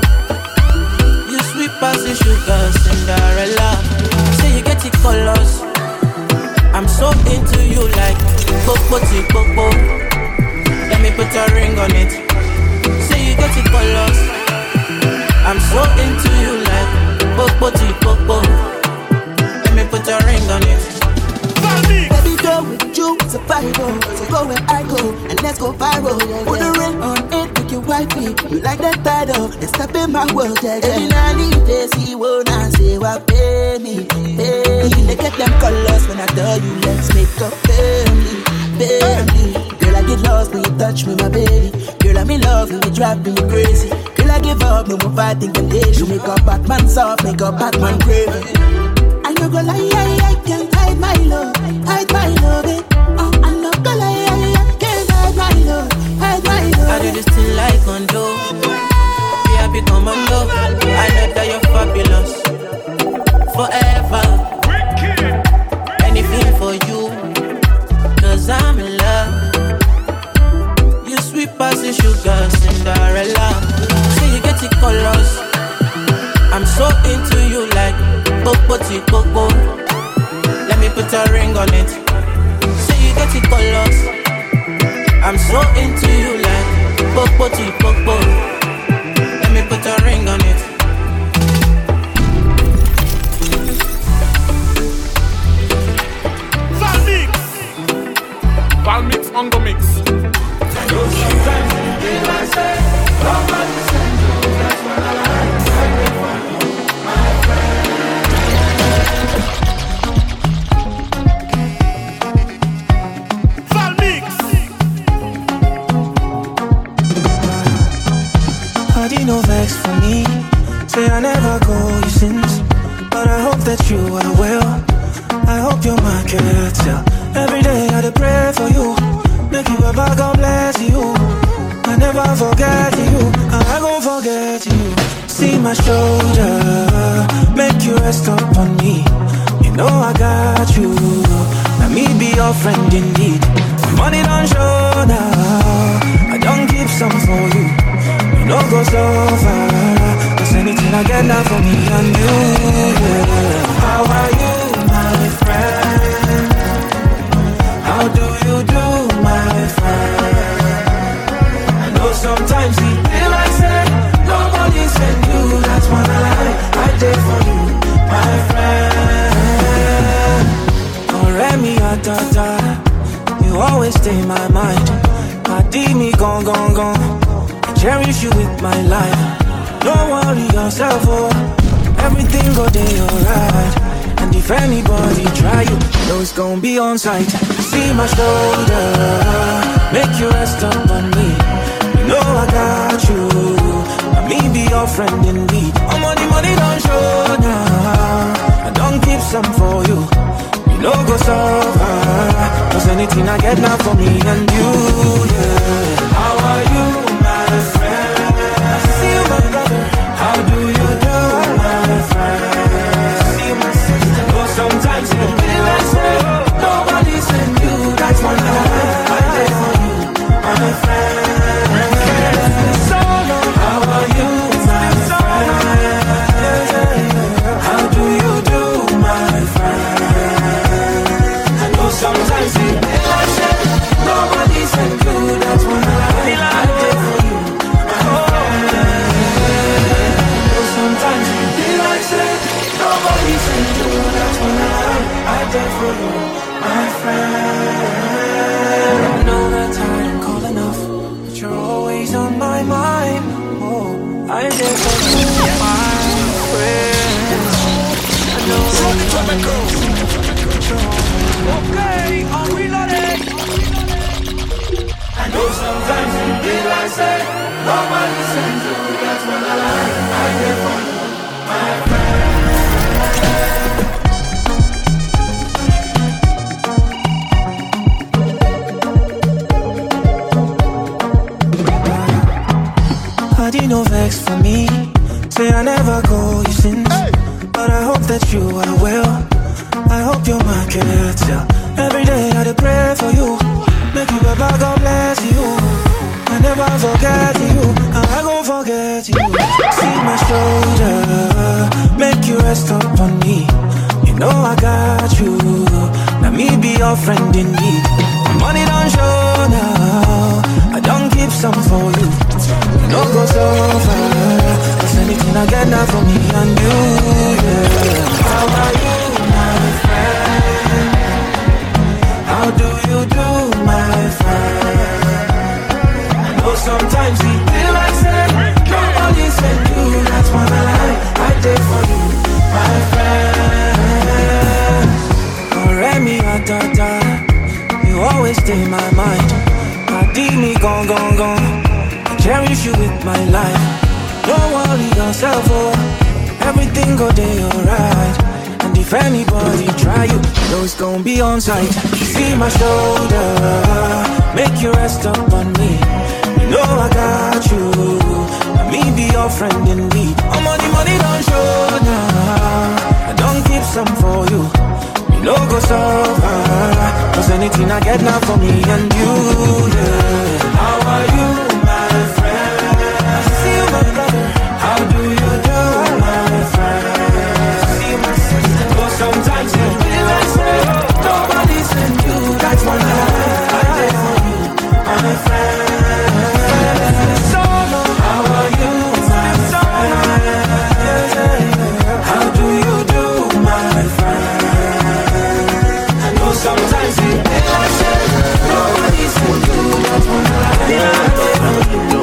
You sweet past the sugar, Cinderella. Say you get the colors. I'm so into you like Bobo. Let me put a ring on it. Say you get the colors. I'm so into you like Bobo. Let me put a ring on it. Baby, go with you, it's a Bible. So go where I go, and let's go viral. Yeah, put a ring on it, make you wifey. You like that title, and step in my world. Yeah. Every night you day, see what I say, what pay me. They get them colors when I tell you, let's make a family. Girl, I get lost when you touch me, my baby. Girl, I'm in love when you drive me crazy. Girl, I give up, no more fighting temptation. Make a Batman soft, make a Batman crazy. I no go lie, I can't hide my love, it. I'm not gonna lie, I can't hide my love, I do this thing like condo. Be a big commando. I know that you're fabulous. Forever. Anything for you. 'Cause I'm in love. You sweet past the sugar, Cinderella. Say you get the colors. I'm so into you like Bobo. Let me put a ring on it. Say you get the colors. I'm so into you like Bobo. Let me put a ring on it. Valmix on the mix. No vex for me. Say I never go you since, but I hope that you are well. I hope your mind can tell. Every day I dey pray for you. Make you ever God bless you. I never forget you. I gon' forget you. See my shoulder, make you rest up on me. You know I got you. Let me be your friend indeed. Money don't show now. I don't keep some for you. You know go so far. Cause anything I get now for me and you, yeah. How are you, my friend? How do you do, my friend? I know sometimes we feel like say nobody send you. That's when I did for you, my friend. Already atata, you always stay in my mind. I did me gone. Cherish you with my life. Don't worry yourself, oh. Everything go day alright. And if anybody try you, know it's gon' be on sight. See my shoulder, make you rest up on me. You know I got you. Let me be your friend indeed. Oh, money don't show now. I don't keep some for you. You know go so far. Cause anything I get now for me and you, yeah. How are you? See you, my brother. How do you do, my friend? See you, my sister. Oh, sometimes you feel like say nobody send you. That's one I did for you, my friend. So long. How are you, my friend? How do you do, there for you, my friend. I know that I don't call enough, but you're always on my mind. Oh, I'm there for you, my friend. I know that okay, I'm reloaded. I know sometimes you feel like say nobody sends you. That's when I like. I'm there for you, my friend. No vex for me. Say I never call you since, but I hope that you are well. I hope your market yeah. Every day I pray for you. Make you Baba, God bless you. I never forget you. I gon' forget you. See my shoulder, make you rest up on me. You know I got you. Now me be your friend in need. My money don't show now. I don't keep some for you. No go so far, cause anything I get now from me and you, yeah. How are you, my friend? How do you do, my friend? I know sometimes we feel like saying nobody sent you, that's what I like. I did for you, my friend. Remy, you always stay in my mind. I dig me, gone. Cherish you with my life. Don't worry yourself, oh. Everything go day alright. And if anybody try you, know it's gon' be on sight. See my shoulder, make you rest up on me. You know I got you. Let me be your friend in need. I'm on the money don't show now. I don't keep some for you. You know go so far, cause anything I get now for me and you, yeah. How are you? How do you do, my friend? See my sister. But sometimes you feel like say nobody sent you. That's what I did for you, my friend. So how are you, my friend? How do you do, my friend? I know sometimes you feel like say nobody sent you. That's what I did for you.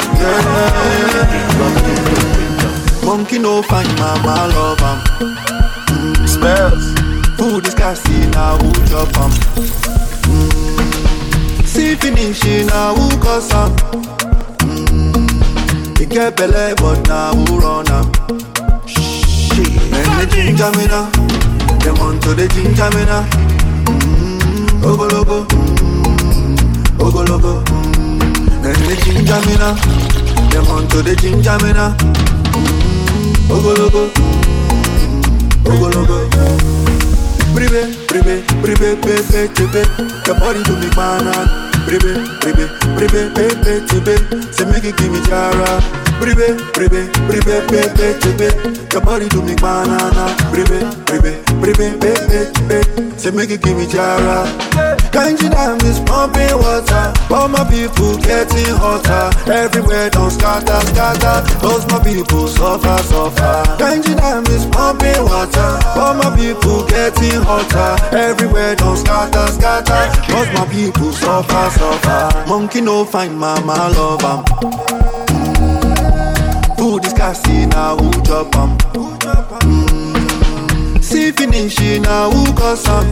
Monkey no find mama love am. Spells. Food is gassy now who chop am. See finishing now who cause am. He get belly but now who run am. Shit. And the ginger me now. Them on to the ginger me now. Ogologo. Ogologo. And the ginger me now. Them on to the ginger me now. Ogologo, ogologo. Bribe, pepe, tepe. Your body to me banana. Bribe, pepe, tepe. Say make it give me jara. Bribe, pepe, tepe. Your body to me banana. Bribe, pepe, tepe. Say make it give me jara. Kanji dam is pumping water. All my people getting hotter. Everywhere don't scatter. Those my people suffer. Kanji dam is pumping water. All my people getting hotter. Everywhere don't scatter. Those my people suffer. Monkey no find mama love am. Food is gassy now who chop am. See finishing now who cause am.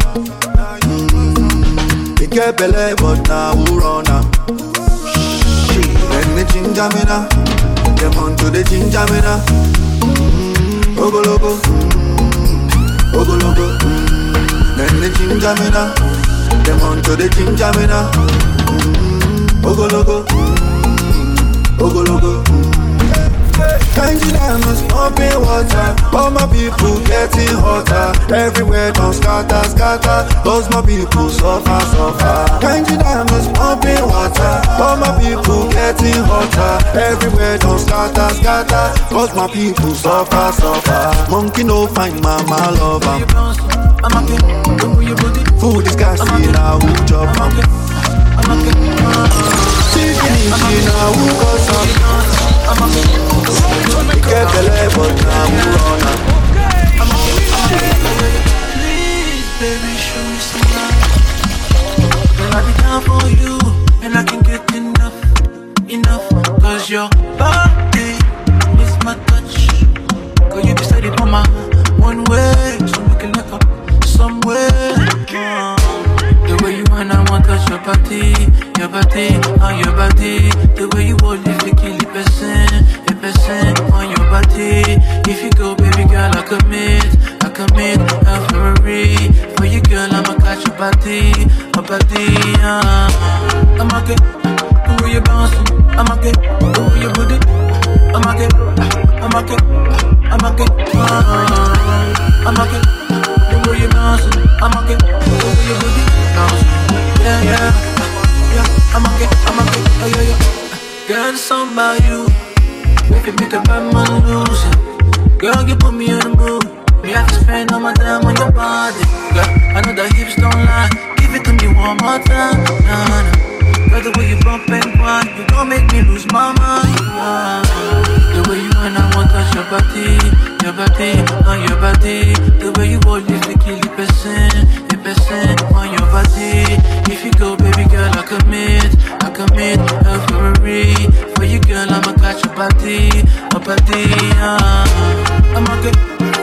He get belly but now who run am. Shit. Then the ginger me now. Them on to the ginger me now. Ogologo. Then the ginger me now. Them on to the ginger me now. Ogologo. Kanji dam is pumping water. All my people getting hotter. Everywhere don't scatter. Those my people suffer. Kanji dam is pumping water. All my people getting hotter. Everywhere don't scatter. Those my people suffer. Monkey no find mama love am. Food is gassy now who chop am. See finishing now who cause am. Get belly but now who run am. Please, baby. show you some love. Girl, I'll be down for you, and I can get enough. Cause your body is my touch. Girl, you be steady on my one way, so we can look up somewhere. The way you and I want to touch your body, on your body. The way you hold it, you kill the person on your body. If you go, baby girl, I commit every for you, girl. I'ma catch your body, I'ma get the way you bouncing, I'ma get the way you put it, I'ma get the way you bouncing, I'ma get the way you put it, bouncing, yeah. I'ma get, yeah. Girl, it's something about you, make it make a bad man lose it. Girl, you put me on the mood. Me have to spend all my time on your body. Girl, I know that hips don't lie. Give it to me one more time. Nah. Girl, the way you bump and grind, you gon' make me lose my mind. The way you and I want to touch your body, on your body. The way you hold it, you kill the person on your body. If you go, baby girl, I commit every for you, girl. I'ma catch your body, I'ma get.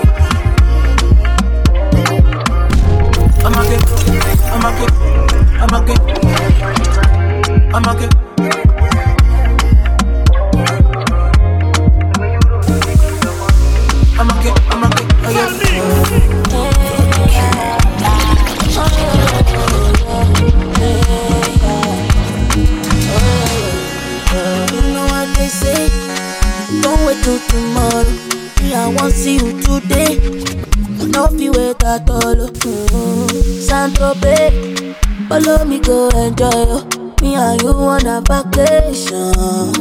Don't wait till tomorrow. Me, I want see you today. No feel wait at all. Santo Bay, follow me go enjoy. Me and you on a vacation.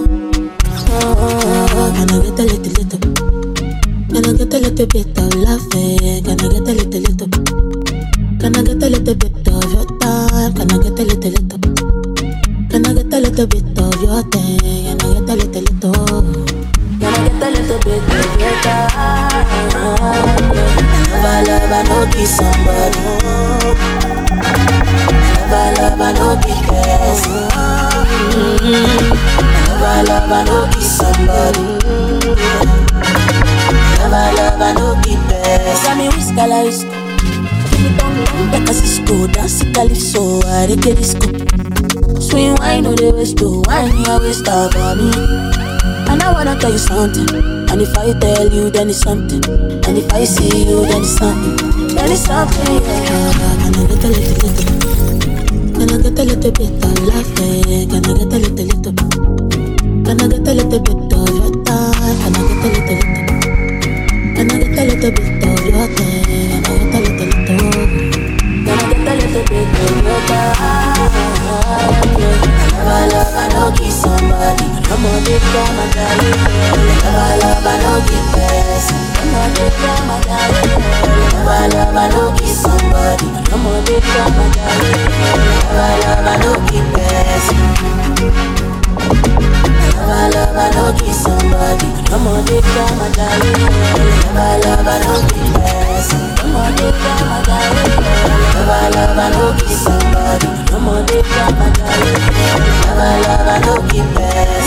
Can I get a little? Can I get a little bit of laughing? Can I get a little? Can I get a little bit of your time? Can I get a little? Can I get a little bit of your thing? Can I get a little? Can I get a little bit of your time? Love, I know be somebody. Love, I know be best. Love, I know be somebody. Love, I know be best. Tell me which color is like a Cisco, dance it calypso, I get disco. Swing wine on the waist to wine your waist up on me. And I wanna tell you something. And if I tell you, then it's something. And if I see you, then it's something. Then it's something, yeah. Can I get a little? Can I get a little bit of laughing? Can I get a little? Can I get a little bit of your time? Can I get a little? Can I get a little bit of your thing? Can I get a little? Can I get a little bit of your time? Love, I know kiss somebody. Come on, big girl, my darling. Love, I know kiss best. Come on, big girl, my darling. Love, I know kiss somebody. Come on, big girl, my darling. Love, I know kiss best. Love, I know kiss somebody. Come on, big girl, my darling. Love, I know kiss best. Come on, big girl, my darling. Love, I know kiss somebody. Come on, big girl, my darling. Love, I know kiss best.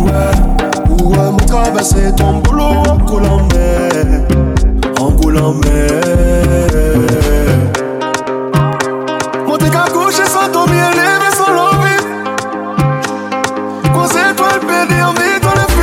ouais, mon traverser ton boulot en coulant mer, en coulant mer. Mon t'es qu'à coucher sans dormir, lever sans l'envie. Quand c'est toi le pédé, on vit dans le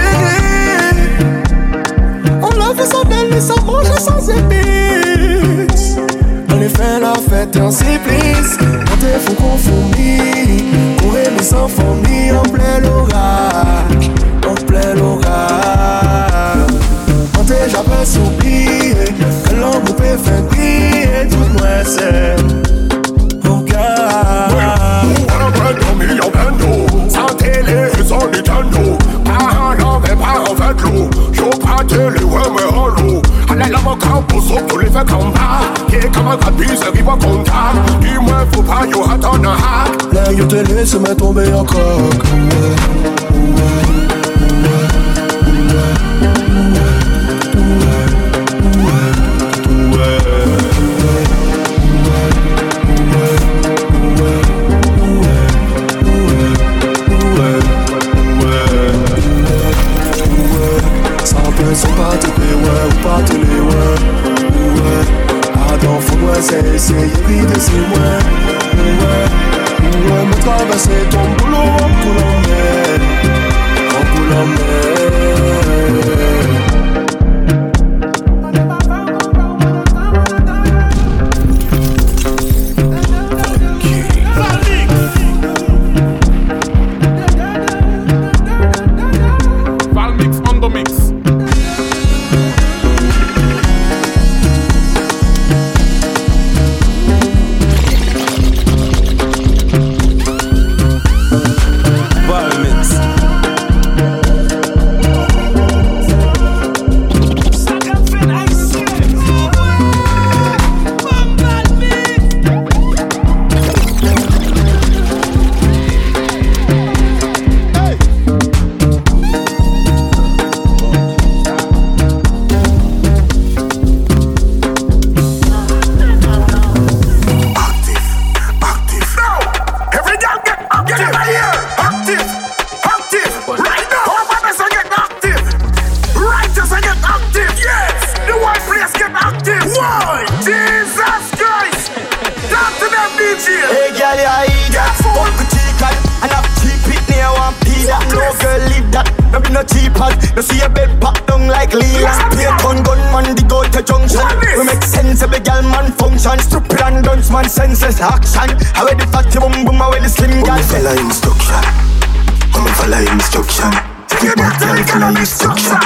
fini. On l'a fait sans délice, sans manger, sans épices. On est fait la fête et on s'y plisse. On t'est fou qu'on fourmille. Courir mais sans fourmi, en plein l'orage. En plein l'orage. On t'est jamais s'oublier. Que l'ombre peut faire briller. Tout moi c'est mon cœur. Sans télé, sans Nintendo. Pas en mais pas en fait l'eau. J'en pas télé, ouais, mais en l'eau. Allez, l'avocat, pour ça, tous les faits comme ça. Qui est comme un caprice, qui va contact. Dis-moi, faut pas, yo, attendre un hack. Là, yo, te laisse me tomber en coque. Sans pas te payer, ouais, ou pas te les ouais. Attends, faut-moi c'est y'a de c'est moi. Ouais, me traverser ton boulot en coulant mer. En coulant mer. Action, how the fatty boom boom, how the slim guy. Follow instruction. I'm follow instruction. Everybody follow instruction.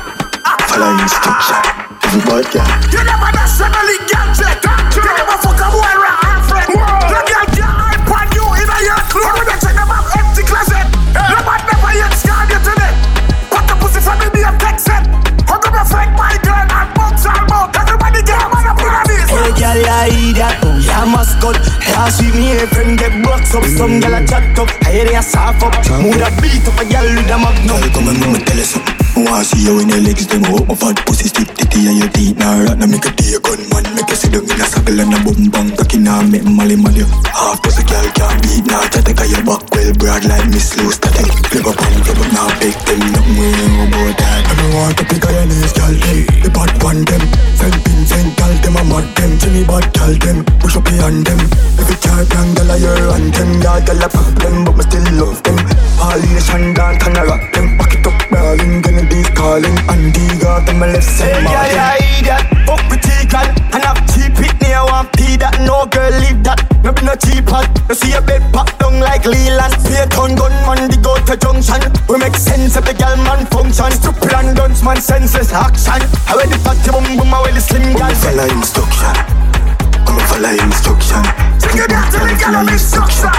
Follow instruction. Everybody. You never nationally gadget. You never fuck a boy right friend. You get your iPod you in a your clothes. You check them out empty closet. No man never yet scarred you today. Put the pussy from me and text it. Hook up your friend, my girl, and box all about. Everybody get a man up in a this. Hey girl, I eat that. Yeah, mascot. Yeah, see me a friend get box up. Some girl a chat up. I hear ya soft up. Mood a beat up a girl with a magnum. Come and me tell you something. I wanna see you in your legs, them up. My fat pussy stick titty and your teeth. Now rat, now make a tea a gunman. Make you sit down in a circle and a boom bang. Cocky now make mally mally. Half pussy girl can't beat. Now try to get your back well broad like Miss Lou Static. Flip up and flip up now pick them. Nothing more about that. I don't want to pick a your knees, girl. The bad one them. Send pin, send girl them. I'm mad them. Jimmy bad girl them. Push up behind them. If you can't young girl a your anthem. Yeah, girl a problem but me still love them. All in the shan dance and I rock them. Back it up, darling, gonna be calling. And they got them a left side. Hey, yeah, idiot. Fuck with T-Cal. And have cheap it near one P that. No girl leave that. No be no cheap hot. You see a bed pop down like Leland. Pay a ton gunman, they go to junction. We make sense of the girl man function. Stupid and dunce man senses action. I wear the fatty boom boom, I wear the slim girl. Follow instruction. I'ma follow instruction. Take it back to the girl on instruction.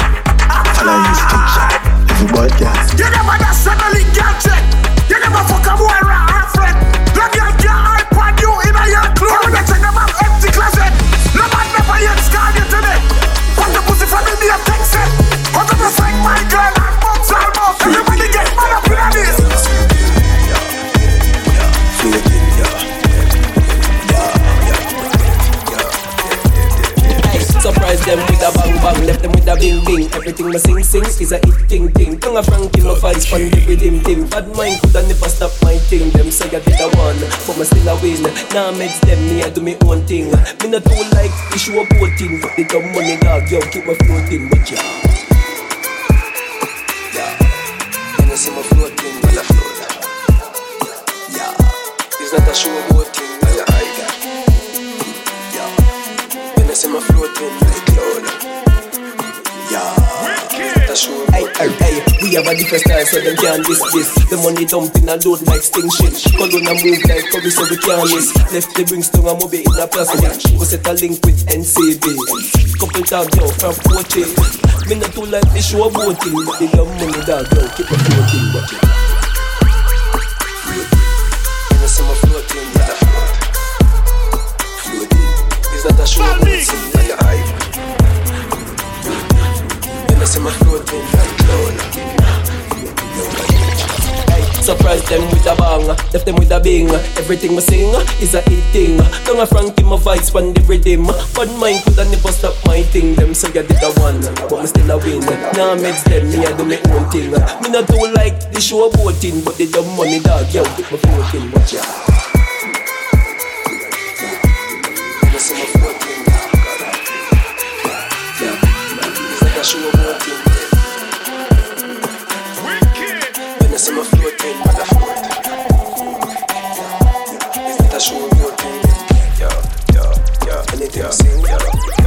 Follow instruction. Everybody else. You never nationally gadget. You never fuck a boy right friend. Love your girl iPod you in a your clothes. You check them out empty closet. No man never yet scarred you today. Put the pussy from me and text it. Hook up your friend, my girl, and box all about. Everybody get mad up in this. Surprise them with a bang bang, left them with a bing bing. Everything me sing sing is a hit ting. Tongue a Frankie, my vibes fun with him. Bad mind coulda never stop my thing. Them say I did a one, but me still a win. Now meds them, me I do me own thing. Me not too like issue of voting, but they dumb money dog, yo keep my floating with ya. Yeah, you see my floating, but I float. Yeah, it's not a show of voting, but I hide. Yeah, you see my floating like cloud. Yeah. Hey, we have a different style so them can't this. The money dumping a load like sting shit. Colonna move like Kobe so we can't miss. Left the Brimstone and Moby in a plastic. Go set a link with NCB. Couple tag yo from coaching. Me not too like the show voting, but they got money dog yo keep a floating. Watch it. You know some floating, not a float. Floating. It's not a show voting, like a hype. See my floating like cloud. Hey, surprise them with a bang, left them with a bing. Everything we sing is a hit thing. Tongue a Frankie, my vibes pan the rhythm. But mine coulda never stop my thing. Them say I did a one, but me still a win. Now meds them, me I do my own thing. Me not do like the show voting, but they dumb money dog, yo, keep my floating, watch ya. You see my floating, yeah, show about him. When I see my floating, but I float. Is that a show about him? Yeah. Anything I sing, yeah.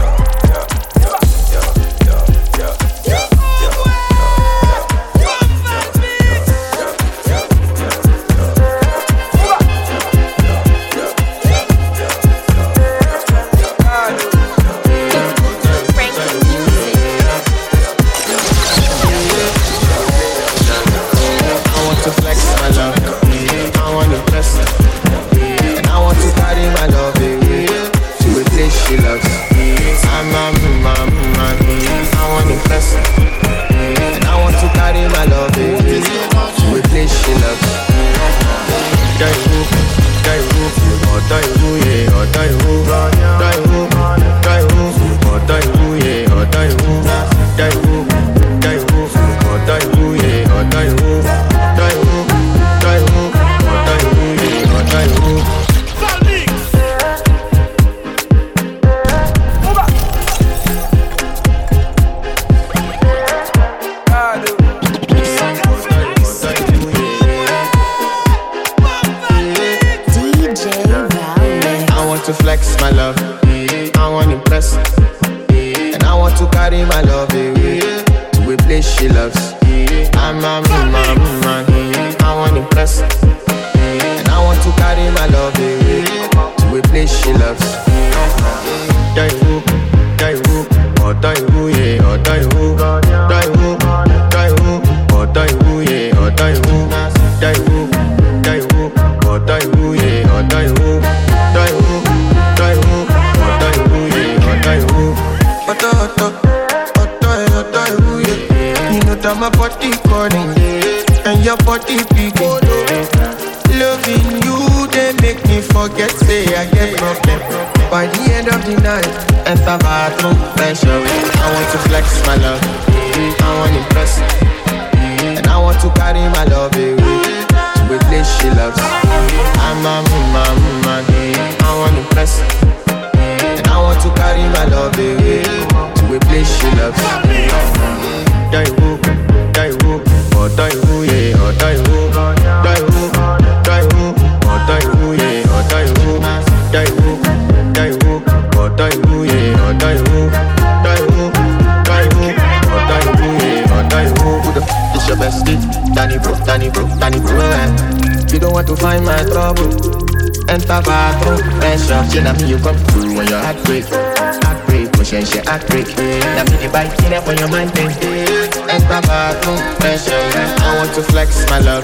You don't want to find my trouble. Enter bathroom, pressure. She na me you come through when your heart break. Pushing she heart break. Na me the bike in up when your mind think. Enter bathroom, pressure. I want to flex my love,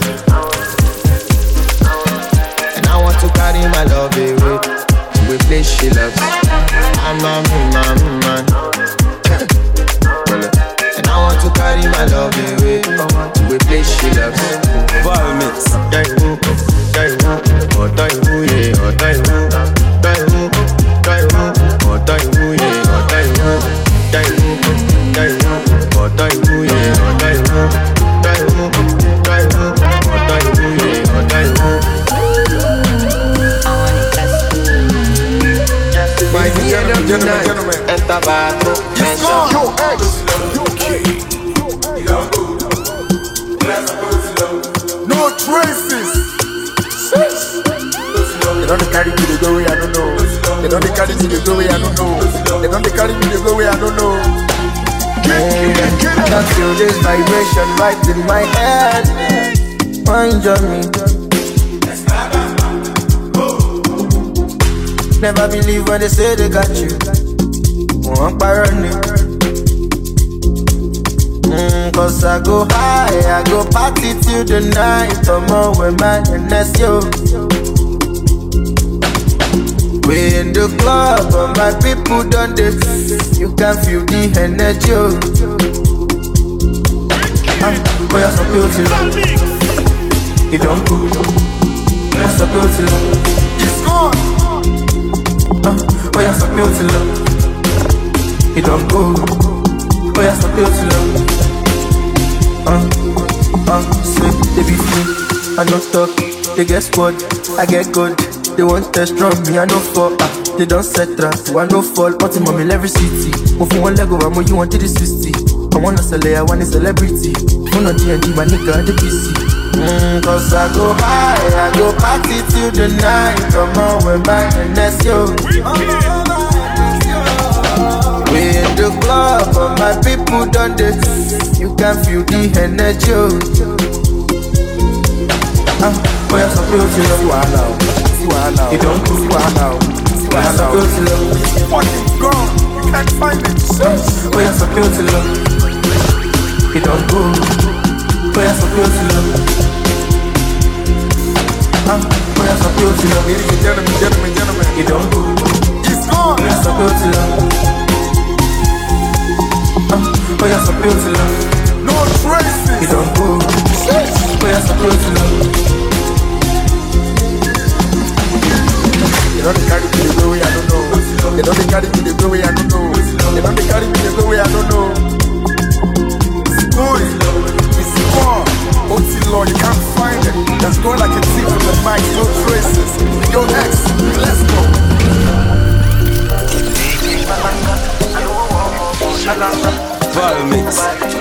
and I want to carry my love away to a place she loves. I'm a man. And I want to carry my love away to a place she loves. Violence. gentlemen. Enter bathroom. No traces. They don't carry me the way I don't know. They don't carry me the way I don't know. They don't carry me the way I don't know. I can feel this vibration right in my head. Mind on me. Never believe when they say they got you. Won't burn it. Cause I go high, I go party till the night. Come on with my NS, yo. We in the club, but my people done this. You can feel the energy, yo. Oh, you're so beautiful. You don't go. You're so beautiful. It's gone. Oh, you're so beautiful. You don't go. Oh, you're so beautiful. Say they be free, I don't talk. They get squad, I get good. They want test from me, I no fall. They don't set trap, so I no fall. But in my every city, move from one leg over, more you want to the 60. I wanna sell it, I want a celebrity. One on D&D, my nigga, the PC. Cause I go high, I go party till the night. Come on, we're back and that's yo. We in the club, but my people done this. You can feel the energy. Oh, you're so beautiful. See what now. You don't do what now. See what now. It's fucking gone. You can't find it. Oh, you're so beautiful. You don't go. Oh, you're so beautiful. Oh, you're so beautiful. Ladies and gentlemen. You don't go. It's gone. Oh, you're so beautiful. Oh, you're so beautiful. No traces. You don't go. Oh, you're so beautiful. They don't carry me the way I don't know. They don't carry me the way I don't know. They don't carry me the way I don't know. It's good. It's gone. OT Law, you can't find it. That's going like a thief from the mic. No traces. Yo, next. Let's go. Valmix.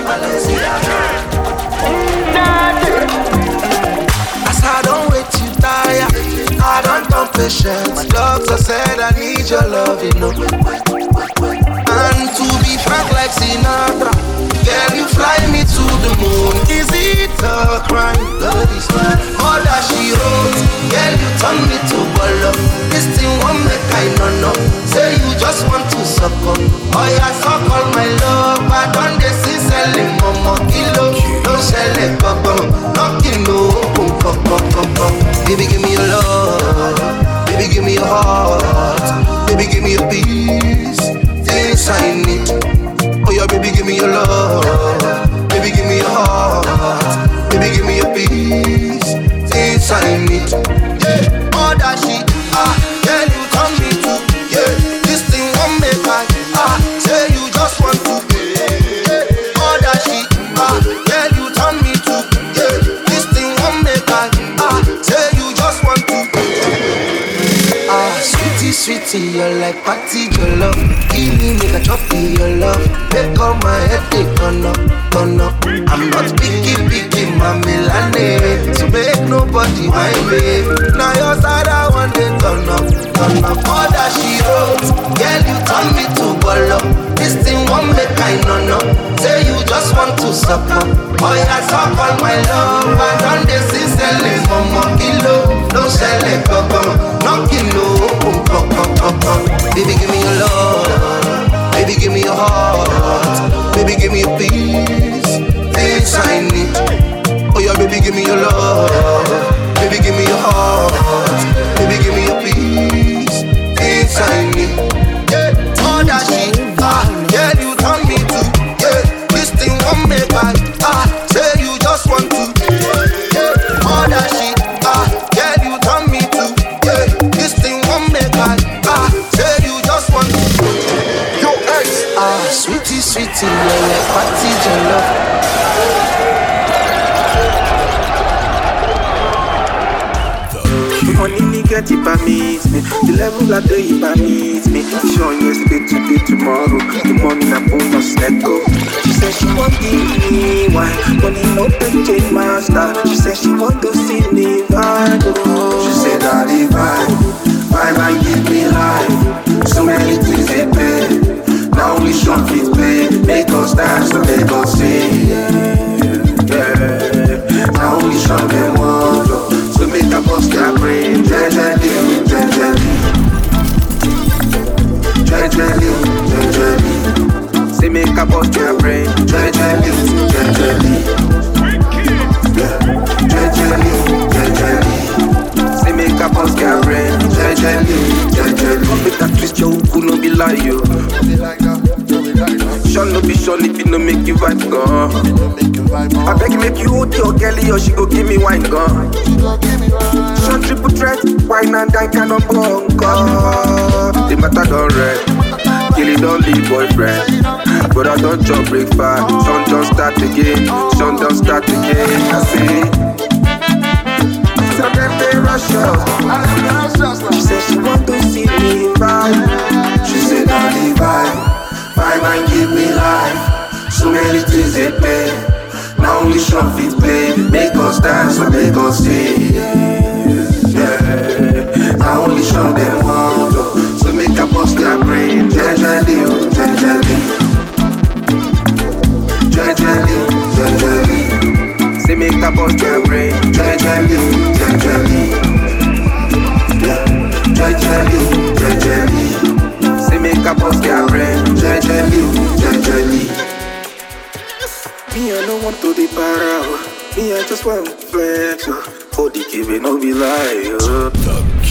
As I don't wait to die, I don't come patient. My doctor said I need your love, you know. And to be frank like Sinatra, girl, you fly me to the moon. Is it a crime? All that she wrote, girl, you turn me to bolo. This thing won't make I know. Say you just want to suck up. Oh yeah, suck all my love. I done this in selling momo kilo. Don't sell it, no kilo. Baby, give me your love. Baby, give me your heart. Baby, give me your peace. Things I need. Oh yeah, baby, give me your love. Baby, give me your heart. Baby, give me your peace. Things I need. Yeah, all that shit. Yeah, you come me to. Yeah, this thing won't make I. Say you just want to. Yeah, all that shit. Yeah, you turn me to. Yeah, this thing won't make I. Say you just want to. Sweetie, you're like party, your love. Give me make a choppy, your love. Make all my headache turn up. I'm not picky, mommy lane. So make nobody mind me. Now your side I want it turn up. All that she wrote, girl, you turn me to bolo. This thing won't make I know. Say you just want to suck up. Oh yeah, suck all my love. I done this in selling momo kilo. No sell it, no kilo. Baby, give me your love. Baby, give me your heart. Baby, give me your peace. Things I need. Oh yeah, baby, give me your love. Baby, give me your heart. Baby, give me your peace. Things I need. Yeah, all that shit. Yeah, you turn me to. Yeah, this thing won't make I. Say you just want to. Yeah, all that shit. Yeah, you turn me to. Yeah, this thing won't make I. Say you just want to. Yo, ex. Sweetie, you're like party, your love. get it by me. The level I do it by me. Show yesterday, today, tomorrow. The morning I bonus, let go. She said she won't give me wine. Money no big change my style. She said she want to see me vibe. She said daddy vibe, vibe and give me life. So many things they pay. Now only short fit play. Make us dance so make us sing. Yeah. Now only short them want so make a bust their brain. Jejely, say make a bust their brain. Jejely. Say make a bust their brain. Make a twist your hook, no be lie yo. Shall no be sure if it no make you vibe gone. I beg you make you hold your girlie or she go give me wine gone. Short triple threat, wine and dine can on bunker. The matter don't red, kill it don't leave boyfriend. But I don't chop breakfast, sun don't start again, sun don't start again. I say so them they rush us. She said she want to see me vibe. She said daddy vibe and give me life. So many things they pay. Now only short fit play. Make us dance and make us sing. Yeah. Now only short them want so make a bust their brain. Jejely. Say make a bust their brain. Jejely. Say make a bust their brain. Jejely. Me I don't want to be para. Me I just want flex. For the giving no be lie.